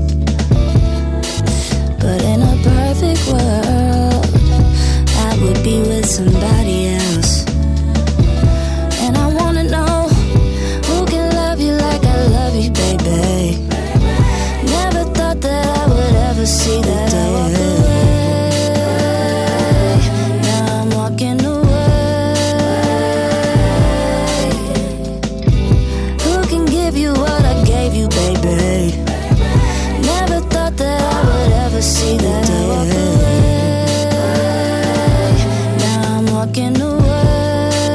But in a perfect world, I would be with somebody else. And I wanna know who can love you like I love you, baby. Never thought that I would ever see the day. Now I'm walking away. Who can give you what I gave you, baby? Never thought that I would ever see the day. Now I'm walking away.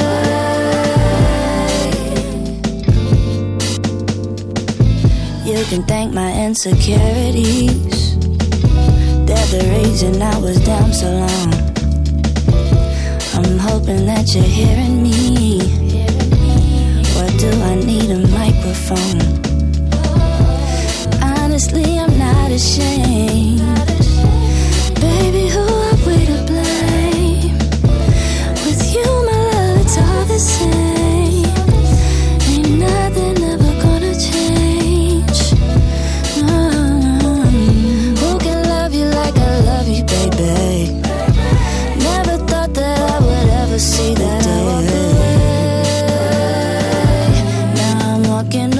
You can thank my insecurities, they're the reason I was down so long. I'm hoping that you're hearing me, or do I need a microphone? Honestly, I'm not ashamed, baby, who are we to blame? With you, my love, it's all the same. Ain't nothing ever gonna change. Who can love you like I love you, baby? Never thought that I would ever see that day. Now I'm walking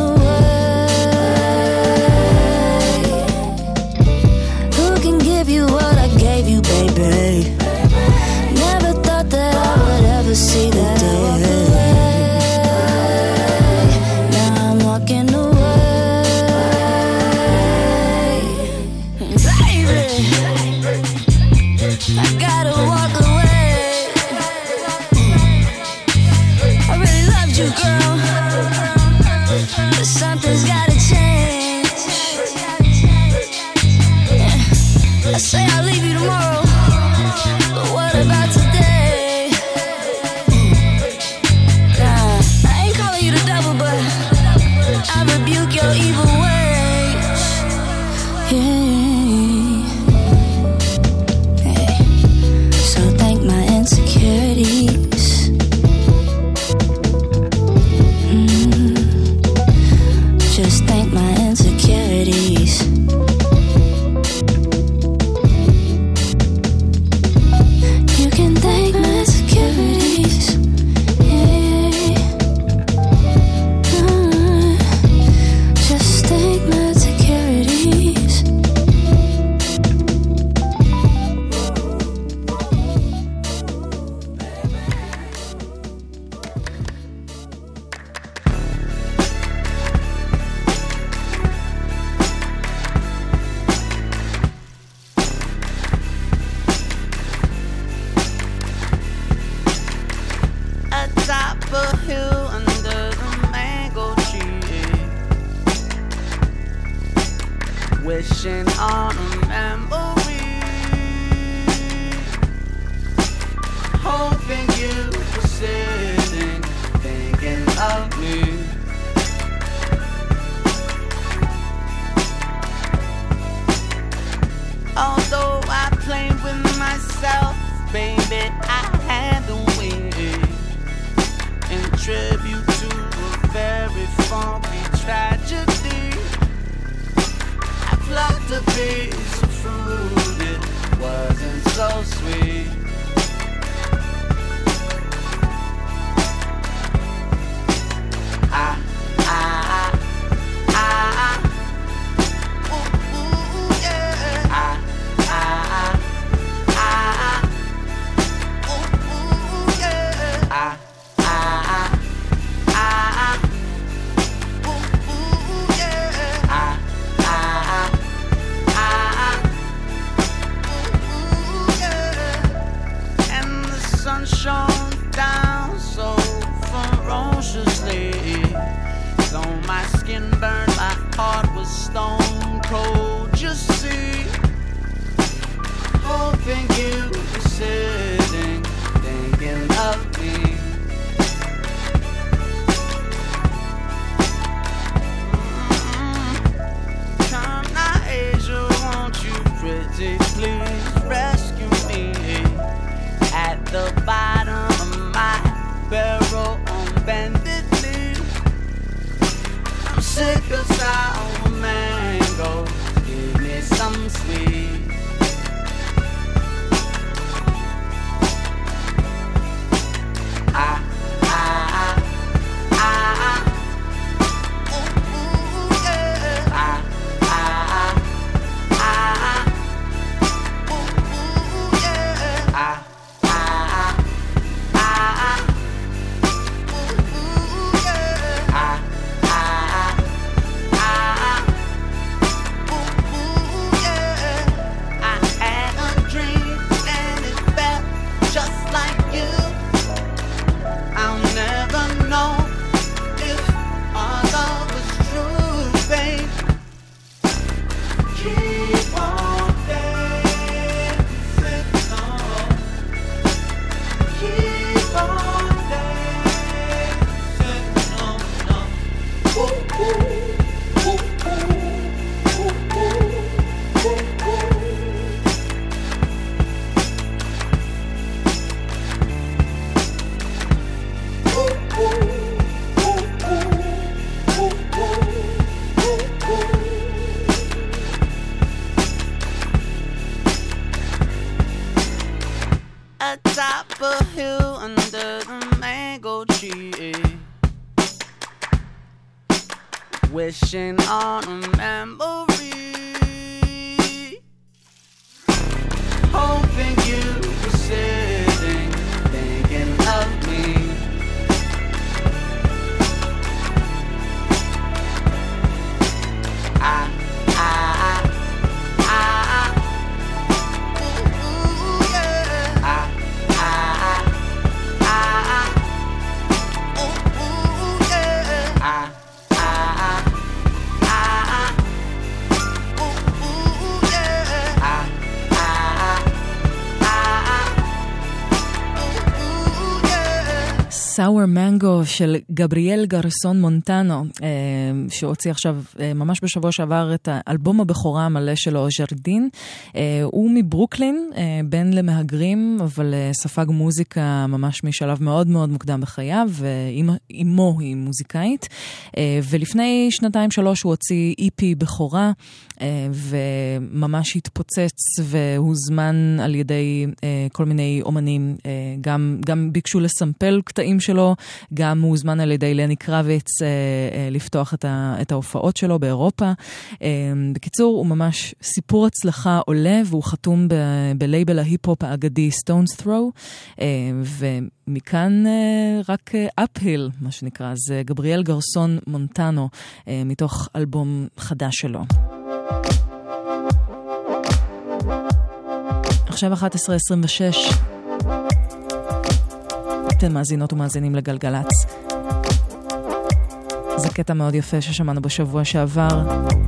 away. Who can give you what I gave you, baby? Never thought that I would ever see that day. Now I'm walking away. I gotta walk away. I really loved you, girl, but something's gotta change. Yeah. I say I'll leave you tomorrow, but what about today? Nah, I ain't calling you the devil, but I rebuke your evil ways. Yeah. Insecurities, mm, just thank my insecurities. You can thank my insecurities, yeah. Mm, just thank my insecurities. Wishing on a memory, hoping you were sitting, thinking of me. Although I claim to be some fruit, it wasn't so sweet. I, I, I, ooh, ooh, yeah. I, I, I, ooh, ooh, yeah. I, I, I, ooh, ooh, yeah. I, I, I, ooh, ooh, yeah. And the sun shone down so ferociously. Though my skin burned, my heart was stone cold. You see, hoping you were sitting, thinking of me. Mm-hmm. Come now, Asia, won't you pretty please rescue me at the bottom of my barrel on bended knee. I'm sick of sour mango, give me some sweet. I, I, I, ooh, ooh, yeah. I, I, I, ooh, ooh, yeah. I, I, I, ooh, ooh, yeah. I, I, I, ooh, ooh, yeah. I had a dream and it felt just like you. I'll never know if our love was true, babe. Keep on dancing on. Keep on dancing on. Ooh, ooh, ooh, ooh, ooh, ooh, ooh. Atop a hill under the mango tree, wishing on a memory, hoping you were sitting, thinking of me. I, I, I, ooh, ooh, yeah. I, I, I, ooh, ooh, yeah. I, I, I, ooh, ooh, yeah. I, I, I, ooh, ooh, yeah. Sour Mango של גבריאל גרסון מונטנו, שהוציא עכשיו ממש בשבוע שעבר את האלבום הבכורה המלא שלו, ז'רדין. הוא מברוקלין, בן למהגרים, אבל ספג מוזיקה ממש משלב מאוד מאוד מוקדם בחייו, ואימו היא מוזיקאית. ולפני שנתיים שלוש הוא הוציא אי פי בכורה, וממש התפוצץ והוזמן על ידי כל מיני אומנים, גם, גם ביקשו לסמפל קטעים שלו, גם הוזמן על ידי לני קרביץ לפתוח את, ה, את ההופעות שלו באירופה. בקיצור, הוא ממש סיפור הצלחה עולה, והוא חתום ב, בלייבל ההיפ-הופ האגדי Stones Throw, ומכאן רק אפהיל, מה שנקרא. זה גבריאל גרסון מונטנו, מתוך אלבום חדש שלו. עכשיו אחת עשרה עשרים ושש, אתם מאזינות ומאזינים לגלגלץ. זה קטע מאוד יפה ששמענו בשבוע שעבר,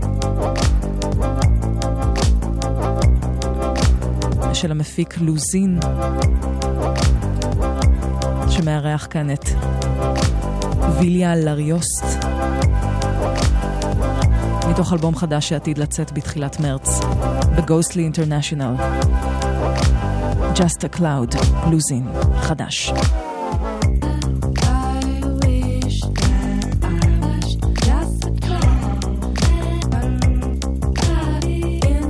של המפיק לוזין, שמארח כאן את ויליה לריוסט, מתוך אלבום חדש שעתיד לצאת בתחילת מרץ בגוסטלי אינטרנשיונל. Just a Cloud, לוזין, חדש. In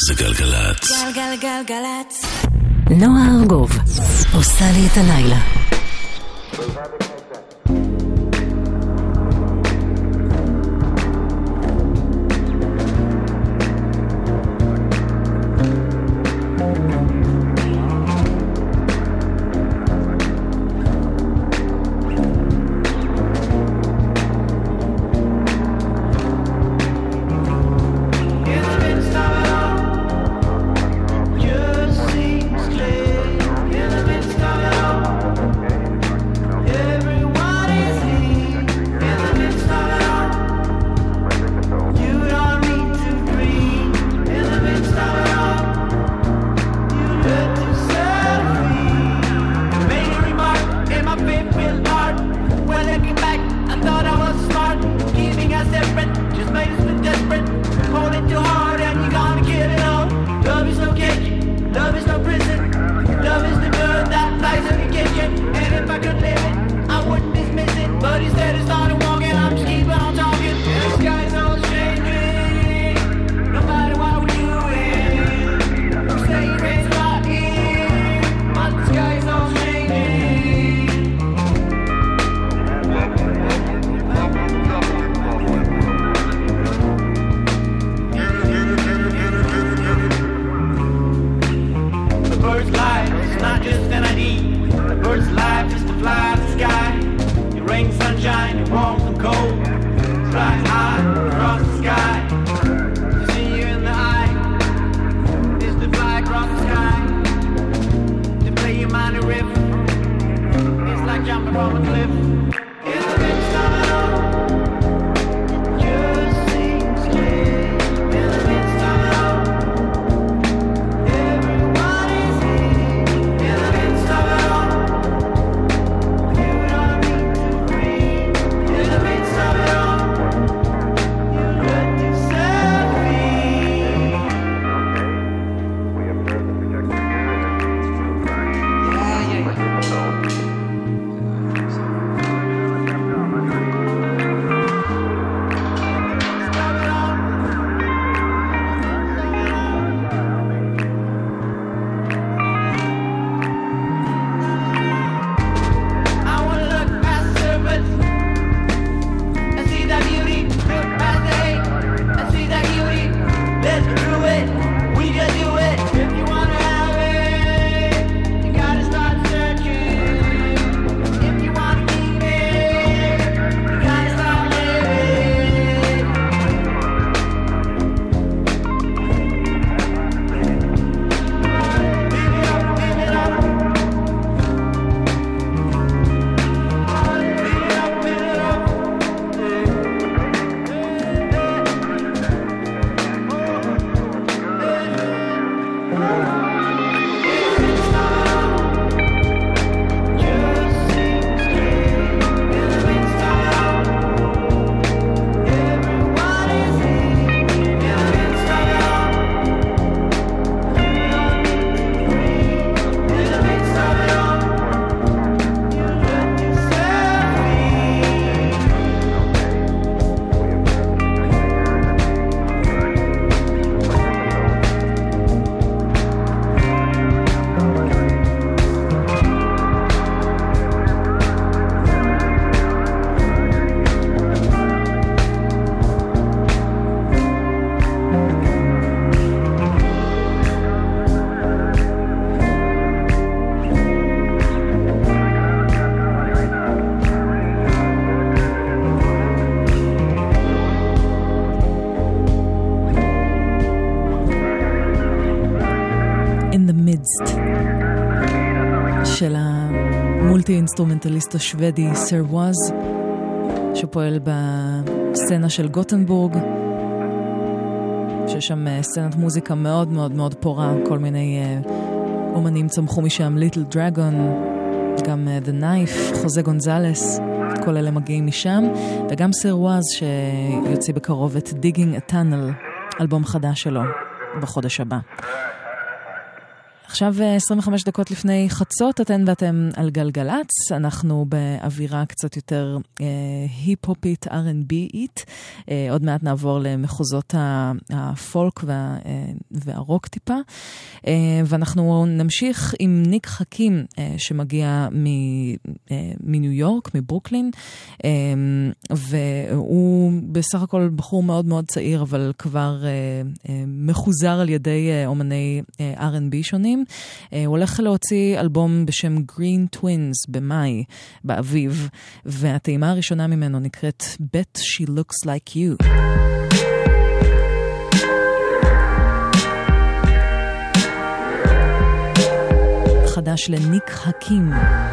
זה גלגלת. גלגלגלגלצ. נועה ארגוב עושה לי את הלילה. של המולטי אינסטרומנטליסט השוודי סר ווז, שפועל בסצנה של גוטנבורג, שיש שם סצנת מוזיקה מאוד מאוד מאוד פורה, כל מיני אומנים צמחו משם, ליטל דרגון, גם The Knife, חוזה גונזלס, כל אלה מגיעים משם, וגם סר ווז שיוציא בקרוב את Digging a Tunnel, אלבום חדש שלו בחודש הבא. עכשיו עשרים וחמש דקות לפני חצות, אתן ואתם על גלגלץ, אנחנו באווירה קצת יותר אה, היפ-הופית, אר אנד בי-ית, אה, עוד מעט נעבור למחוזות הפולק וה, אה, והרוק טיפה, אה, ואנחנו נמשיך עם ניק חכים, אה, שמגיע מ, אה, מניו יורק, מברוקלין, אה, והוא בסך הכל בחור מאוד מאוד צעיר, אבל כבר אה, אה, מחוזר על ידי אה, אומני אה, אר אנד בי שונים. הוא הולך להוציא אלבום בשם Green Twins במאי, באביב, והטעימה הראשונה ממנו נקראת Bet She Looks Like You. חדש לניק חכים.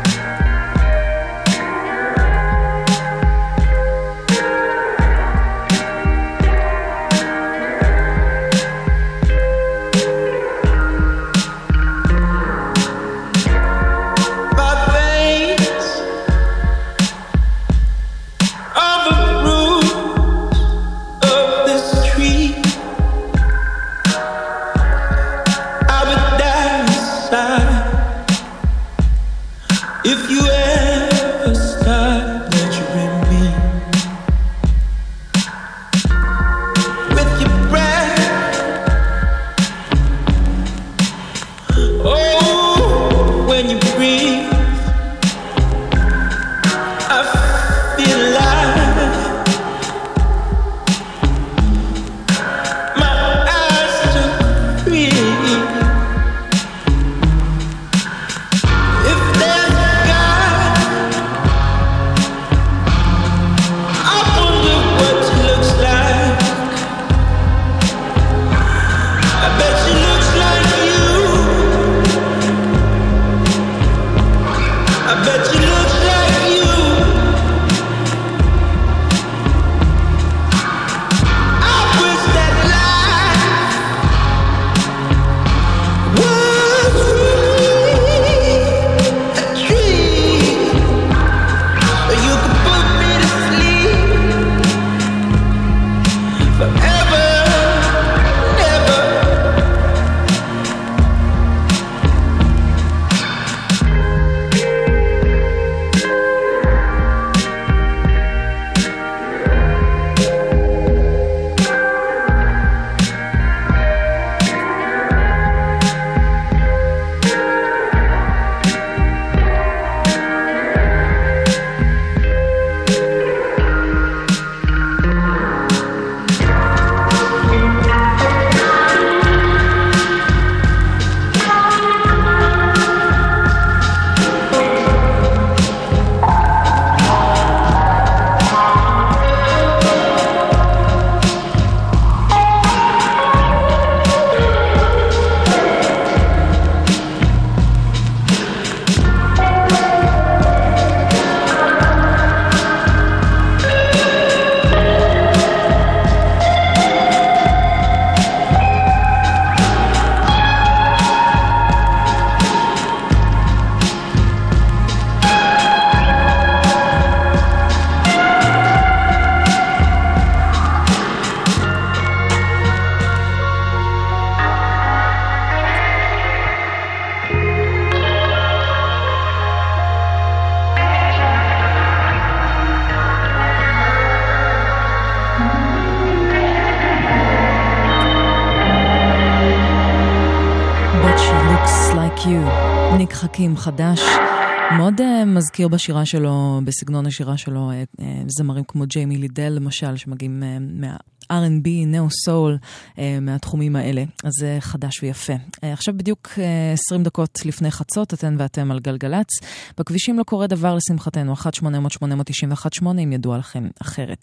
ניק חכים חדש, מאוד uh, מזכיר בשירה שלו, בסגנון השירה שלו, uh, uh, זמרים כמו ג'יימי לידל למשל, שמגיעים uh, מה-אר אנד בי, נאו-סול, uh, מהתחומים האלה. אז זה uh, חדש ויפה. Uh, עכשיו בדיוק uh, עשרים דקות לפני חצות, אתן ואתם על גלגלץ. בכבישים לא קורה דבר לשמחתנו, אחת שמונה אפס אפס שמונה תשע אחת שמונה, אם ידוע לכם אחרת.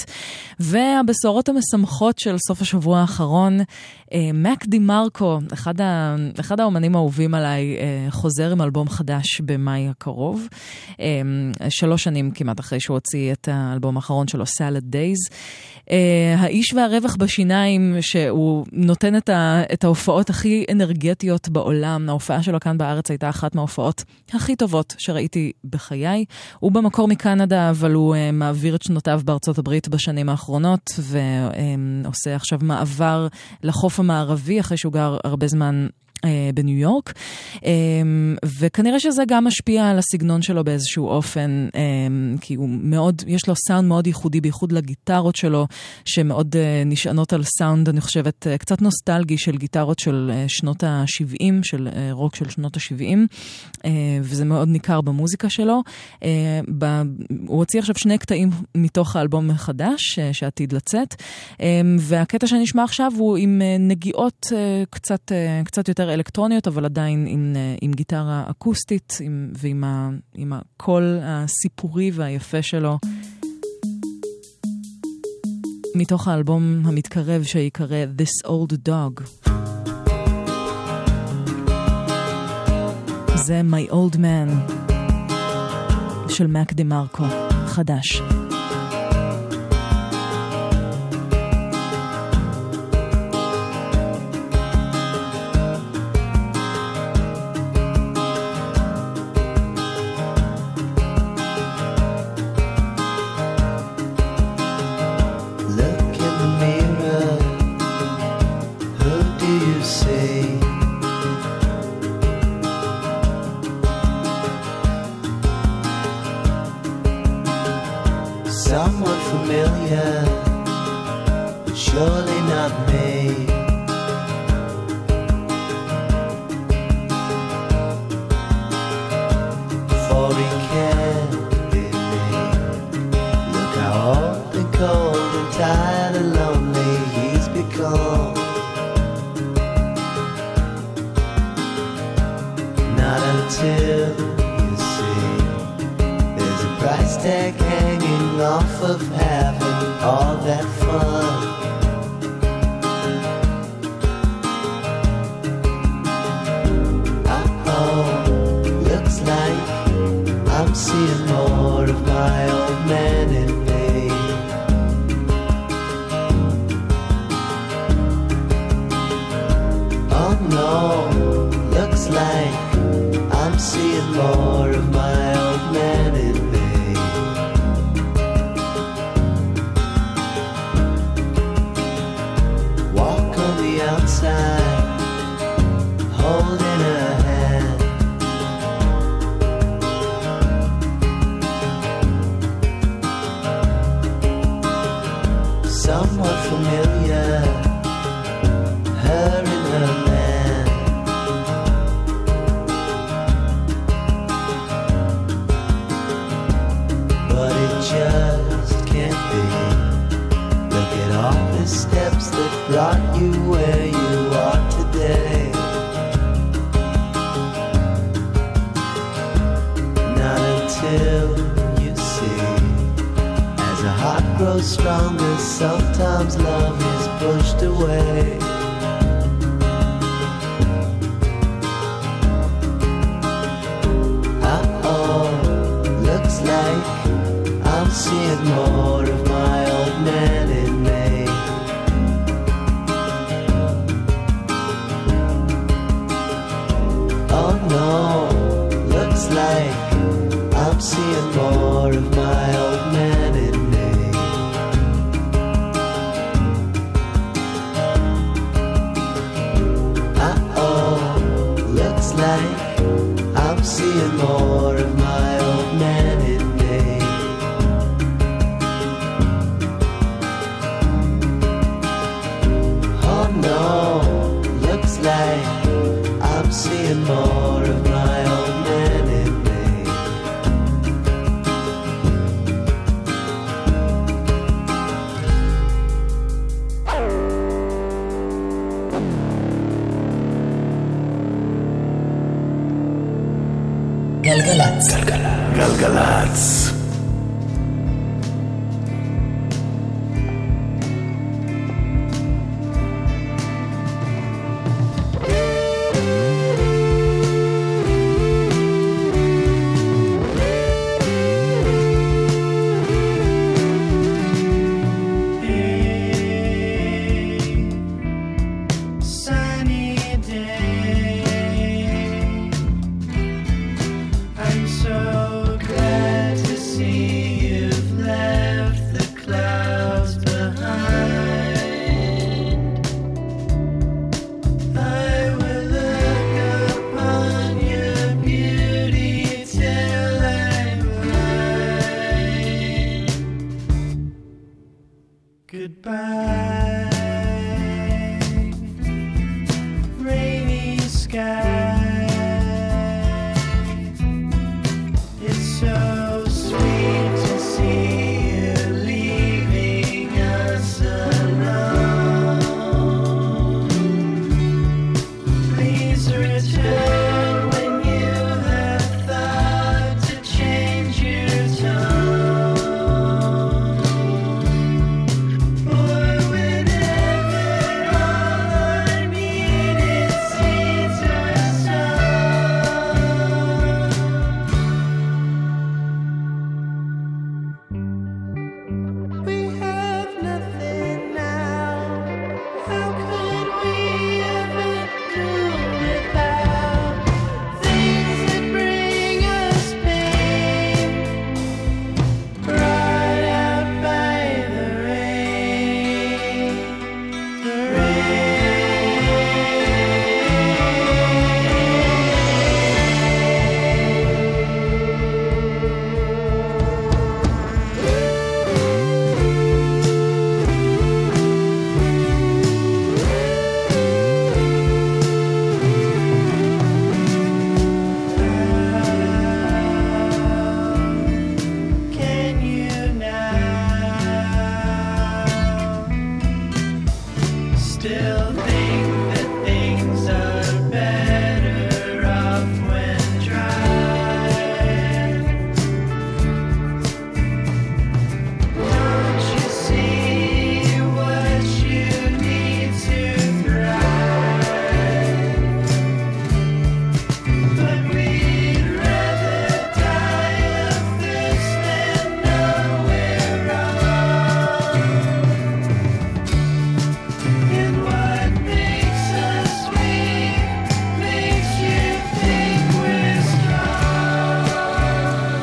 והבשורות המשמחות של סוף השבוע האחרון, uh, מק די מרקו, אחד, ה, אחד האומנים האהובים עליי, uh, חוזר עם אלבום חדש במאי הקרוב. שלוש שנים כמעט אחרי שהוא הוציא את האלבום האחרון שלו, Salad Days. האיש והרווח בשיניים, שהוא נותן את, ה, את ההופעות הכי אנרגטיות בעולם. ההופעה שלו כאן בארץ הייתה אחת מההופעות הכי טובות שראיתי בחיי. הוא במקור מקנדה, אבל הוא מעביר את שנותיו בארצות הברית בשנים האחרונות, ועושה עכשיו מעבר לחוף המערבי, אחרי שהוא גר הרבה זמן בניו יורק, וכנראה שזה גם משפיע על הסגנון שלו באיזשהו אופן, כי הוא מאוד, יש לו סאונד מאוד ייחודי, בייחוד לגיטרות שלו, שמאוד נשענות על סאונד, אני חושבת, קצת נוסטלגי של גיטרות של שנות ה-שבעים, של רוק של שנות ה-שבעים, וזה מאוד ניכר במוזיקה שלו. הוא הוציא עכשיו שני קטעים מתוך האלבום החדש, שעתיד לצאת, והקטע שנשמע עכשיו הוא עם נגיעות קצת, קצת יותר אלקטרוניות, אבל עדיין עם, עם גיטרה אקוסטית, עם, ועם ה, עם הקול הסיפורי והיפה שלו. מתוך האלבום המתקרב שיקרא This Old Dog. זה My Old Man של מק דה מרקו, חדש. Someone familiar, but surely not me. For he can't be me. Look how old and cold and tired and lonely he's become. Not until you see there's a price tag hanging off of having all that fun. Uh-oh, looks like I'm seeing more of my old man in me. Oh no, looks like I'm seeing more of my old man in me. Outside, holding her hand. Somewhat familiar, her and her man. But it just can't be. Look at all the steps that brought you where you are today. Not until you see, as a heart grows stronger, sometimes love is pushed away. Uh-oh, looks like I'm seeing more of my old man in me. Oh no, looks like I'm seeing more of my old man in me. Uh-oh, looks like I'm seeing more of my old man in me. goodbye. Rainy sky, it's so sweet to see you leaving us alone. Please return when you have thought to change your tone, or whenever all I need is seeds or sun. We have nothing now. How could we ever do without things that bring us pain, brought out by the rain, the Can you now still think that things are better off when dry? Don't you see what you need to thrive? But we'd rather die of this than know we're wrong. And what makes us weak makes you think we're strong.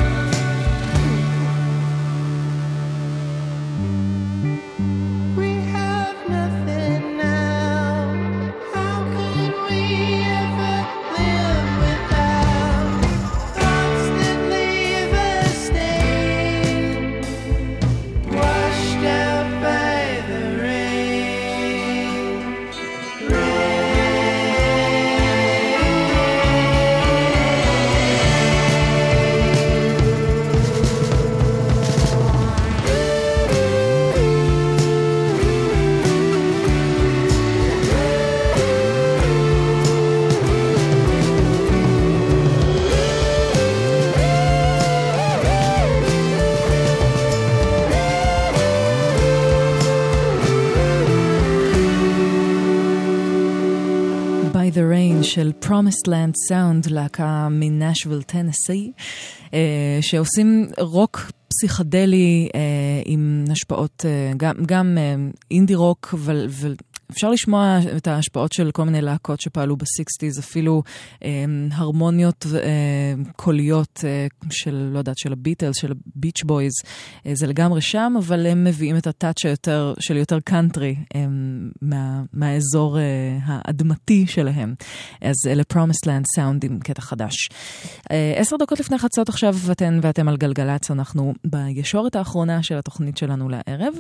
We have nothing now. How could we ever live without thoughts that leave us stained, washed out by the rain, By the Rain של Promised Land Sound, להקה מנשוויל, טנסי, אה, שעושים רוק פסיכדלי אה, עם השפעות, אה, גם, גם אה, אינדי רוק, אבל, אבל אפשר לשמוע את ההשפעות של כל מיני להקות שפעלו ב-שישים, אפילו אה, הרמוניות אה, קוליות אה, של, לא יודעת, של הביטלס, של הביץ' בויז, אה, זה לגמרי שם, אבל הם מביאים את הטאץ' היותר, של יותר קאנטרי אה, מה, מהאזור אה, האדמתי שלהם. אז אלה Promised Land Sound עם קטע חדש. אה, עשר דקות לפני חצות עכשיו, אתן ואתם על גלגלץ, אנחנו בישורת האחרונה של התוכנית שלנו לערב,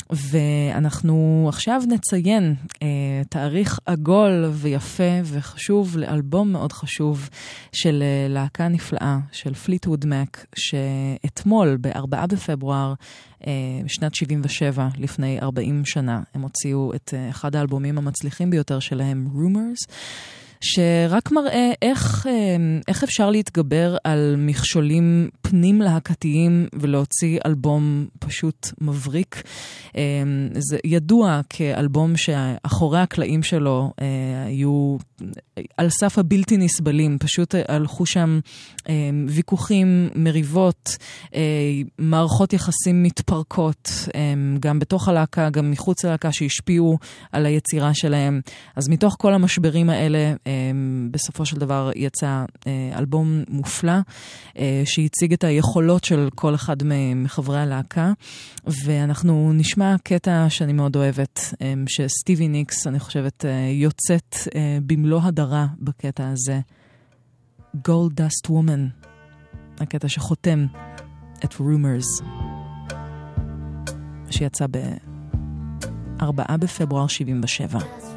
ואנחנו עכשיו נציין אה, תאריך עגול ויפה וחשוב לאלבום מאוד חשוב של אה, להקה נפלאה של פליטווד מק, שאתמול ב-ארבעה בפברואר אה, שנת שבעים ושבע, לפני ארבעים שנה, הם הוציאו את אה, אחד האלבומים המצליחים ביותר שלהם, Rumors, שרק מראה איך, איך אפשר להתגבר על מכשולים פנים להקתיים ולהוציא אלבום פשוט מבריק. זה ידוע כאלבום שאחורי הקלעים שלו היו על סף הבלתי נסבלים, פשוט הלכו שם ויכוחים, מריבות, מערכות יחסים מתפרקות, גם בתוך הלהקה, גם מחוץ ללהקה שהשפיעו על היצירה שלהם. אז מתוך כל המשברים האלה, בסופו של דבר יצא אלבום מופלא, שהציג את היכולות של כל אחד מחברי הלהקה, ואנחנו נשמע קטע שאני מאוד אוהבת, שסטיבי ניקס, אני חושבת, יוצאת במלוא הדרה בקטע הזה. Gold Dust Woman, הקטע שחותם את Rumors, שיצא ארבעה בפברואר שבעים ושבע.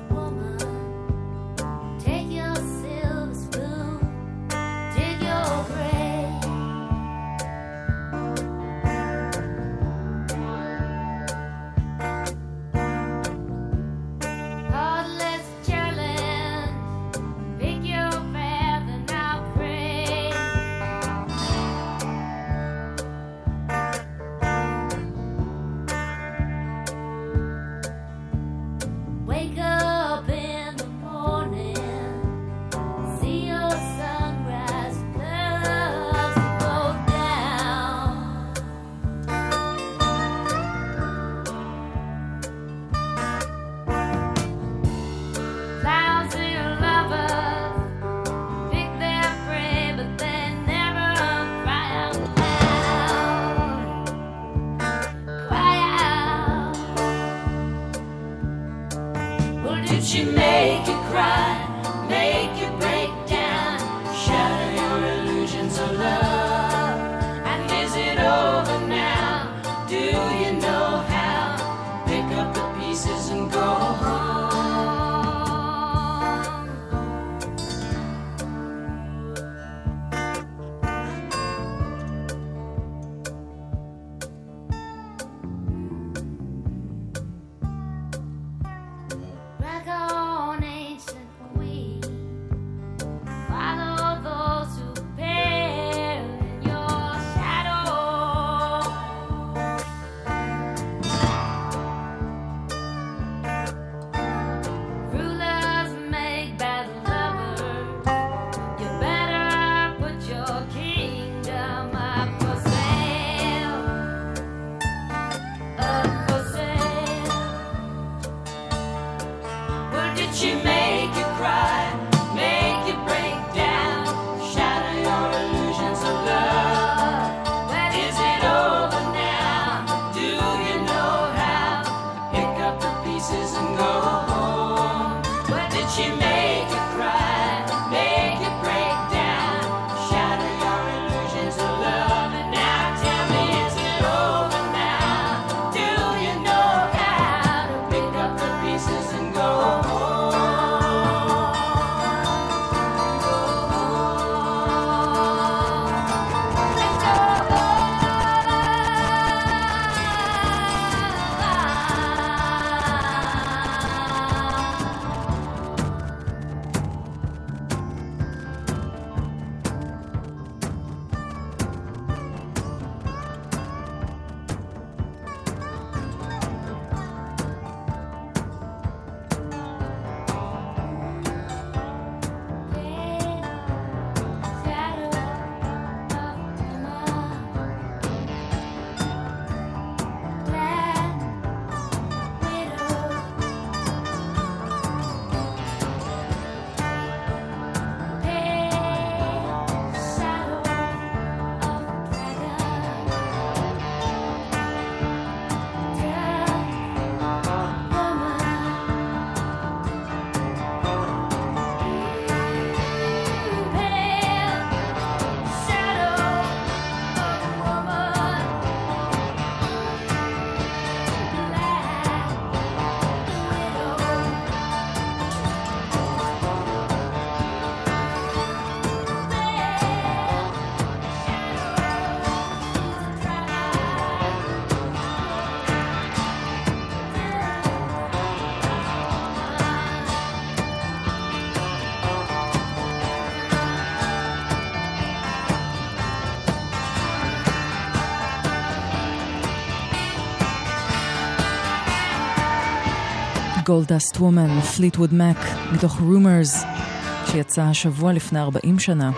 Goldust Woman, Fleetwood Mac, מתוך Rumors, שיצא השבוע לפני ארבעים שנה.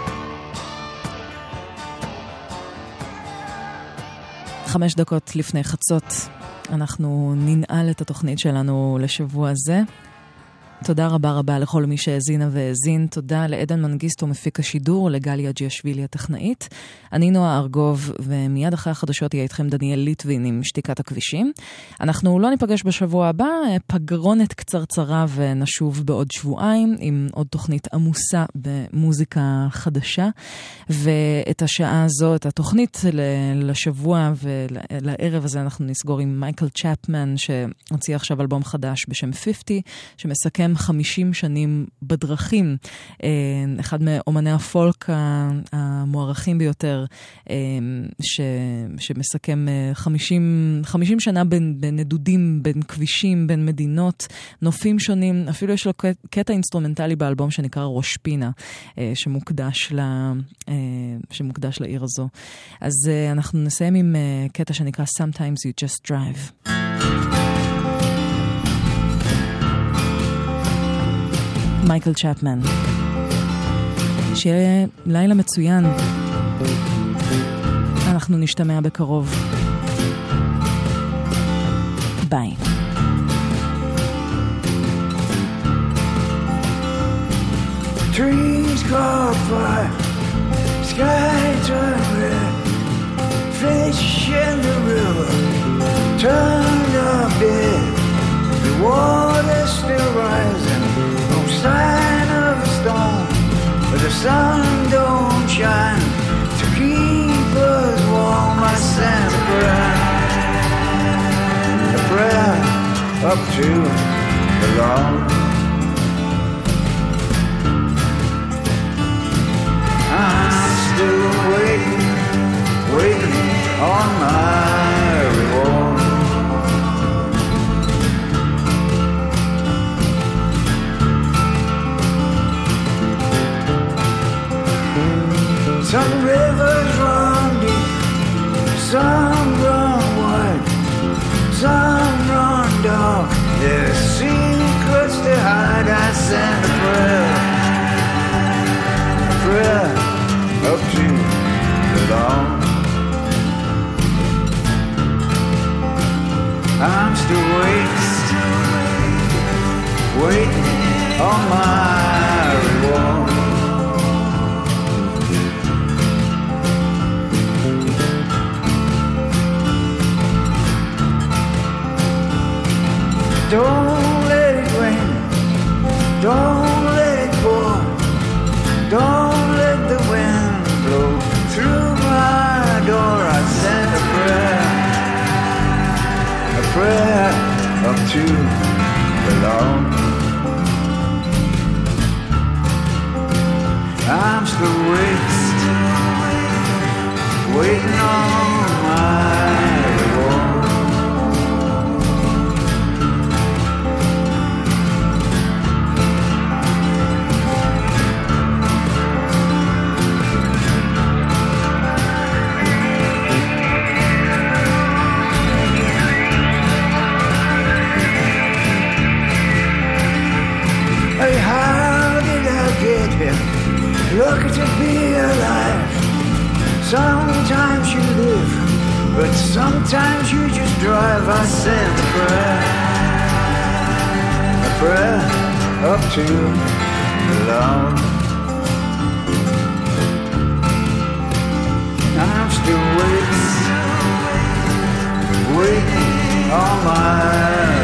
חמש דקות לפני חצות, אנחנו ננעל את התוכנית שלנו לשבוע הזה. תודה רבה רבה לכל מי שהזינה והזין. תודה לעדן מנגיסטו מפיק השידור, לגליה ג'יאשווילי הטכנאית. אני נועה ארגוב, ומיד אחרי החדשות יהיה איתכם דניאל ליטווין עם שתיקת הכבישים. אנחנו לא ניפגש בשבוע הבא, פגרונת קצרצרה ונשוב בעוד שבועיים עם עוד תוכנית עמוסה במוזיקה חדשה. ואת השעה הזו, את התוכנית לשבוע ולערב הזה אנחנו נסגור עם מייקל צ'פמן, שהוציא עכשיו אלבום חדש בשם חמישים, שמסכם חמישים שנים בדרכים, אחד מאומני הפולק המוערכים ביותר, ש, שמסכם חמישים, חמישים שנה בין, בין נדודים, בין כבישים, בין מדינות, נופים שונים. אפילו יש לו קטע אינסטרומנטלי באלבום שנקרא ראש פינה, שמוקדש, ל, שמוקדש לעיר הזו. אז אנחנו נסיים עם קטע שנקרא Sometimes You Just Drive. מייקל צ'פמן. שיהיה לילה מצוין. אנחנו נשתמע בקרוב. ביי. Trees caught fire, sky turned red, fish in the river turned up dead, the water still rising, no sign of a storm, but the sun don't shine to keep us warm. I sent a prayer, a prayer up to the Lord. I'm still waiting, waiting on my reward. Some rivers run deep, some run wide, some run dark. There's secrets to hide. I send a prayer, a prayer up to the Lord. I'm still waiting, waiting on my reward. Don't let it rain, don't let it pour, don't let the wind blow through my door. I send a prayer, a prayer up to the Lord. I'm still waiting, waiting on my reward. How did I get here? Lucky to be alive. Sometimes you live, but sometimes you just drive. I send a prayer, a prayer up to the Lord. I'm still waiting, waiting on my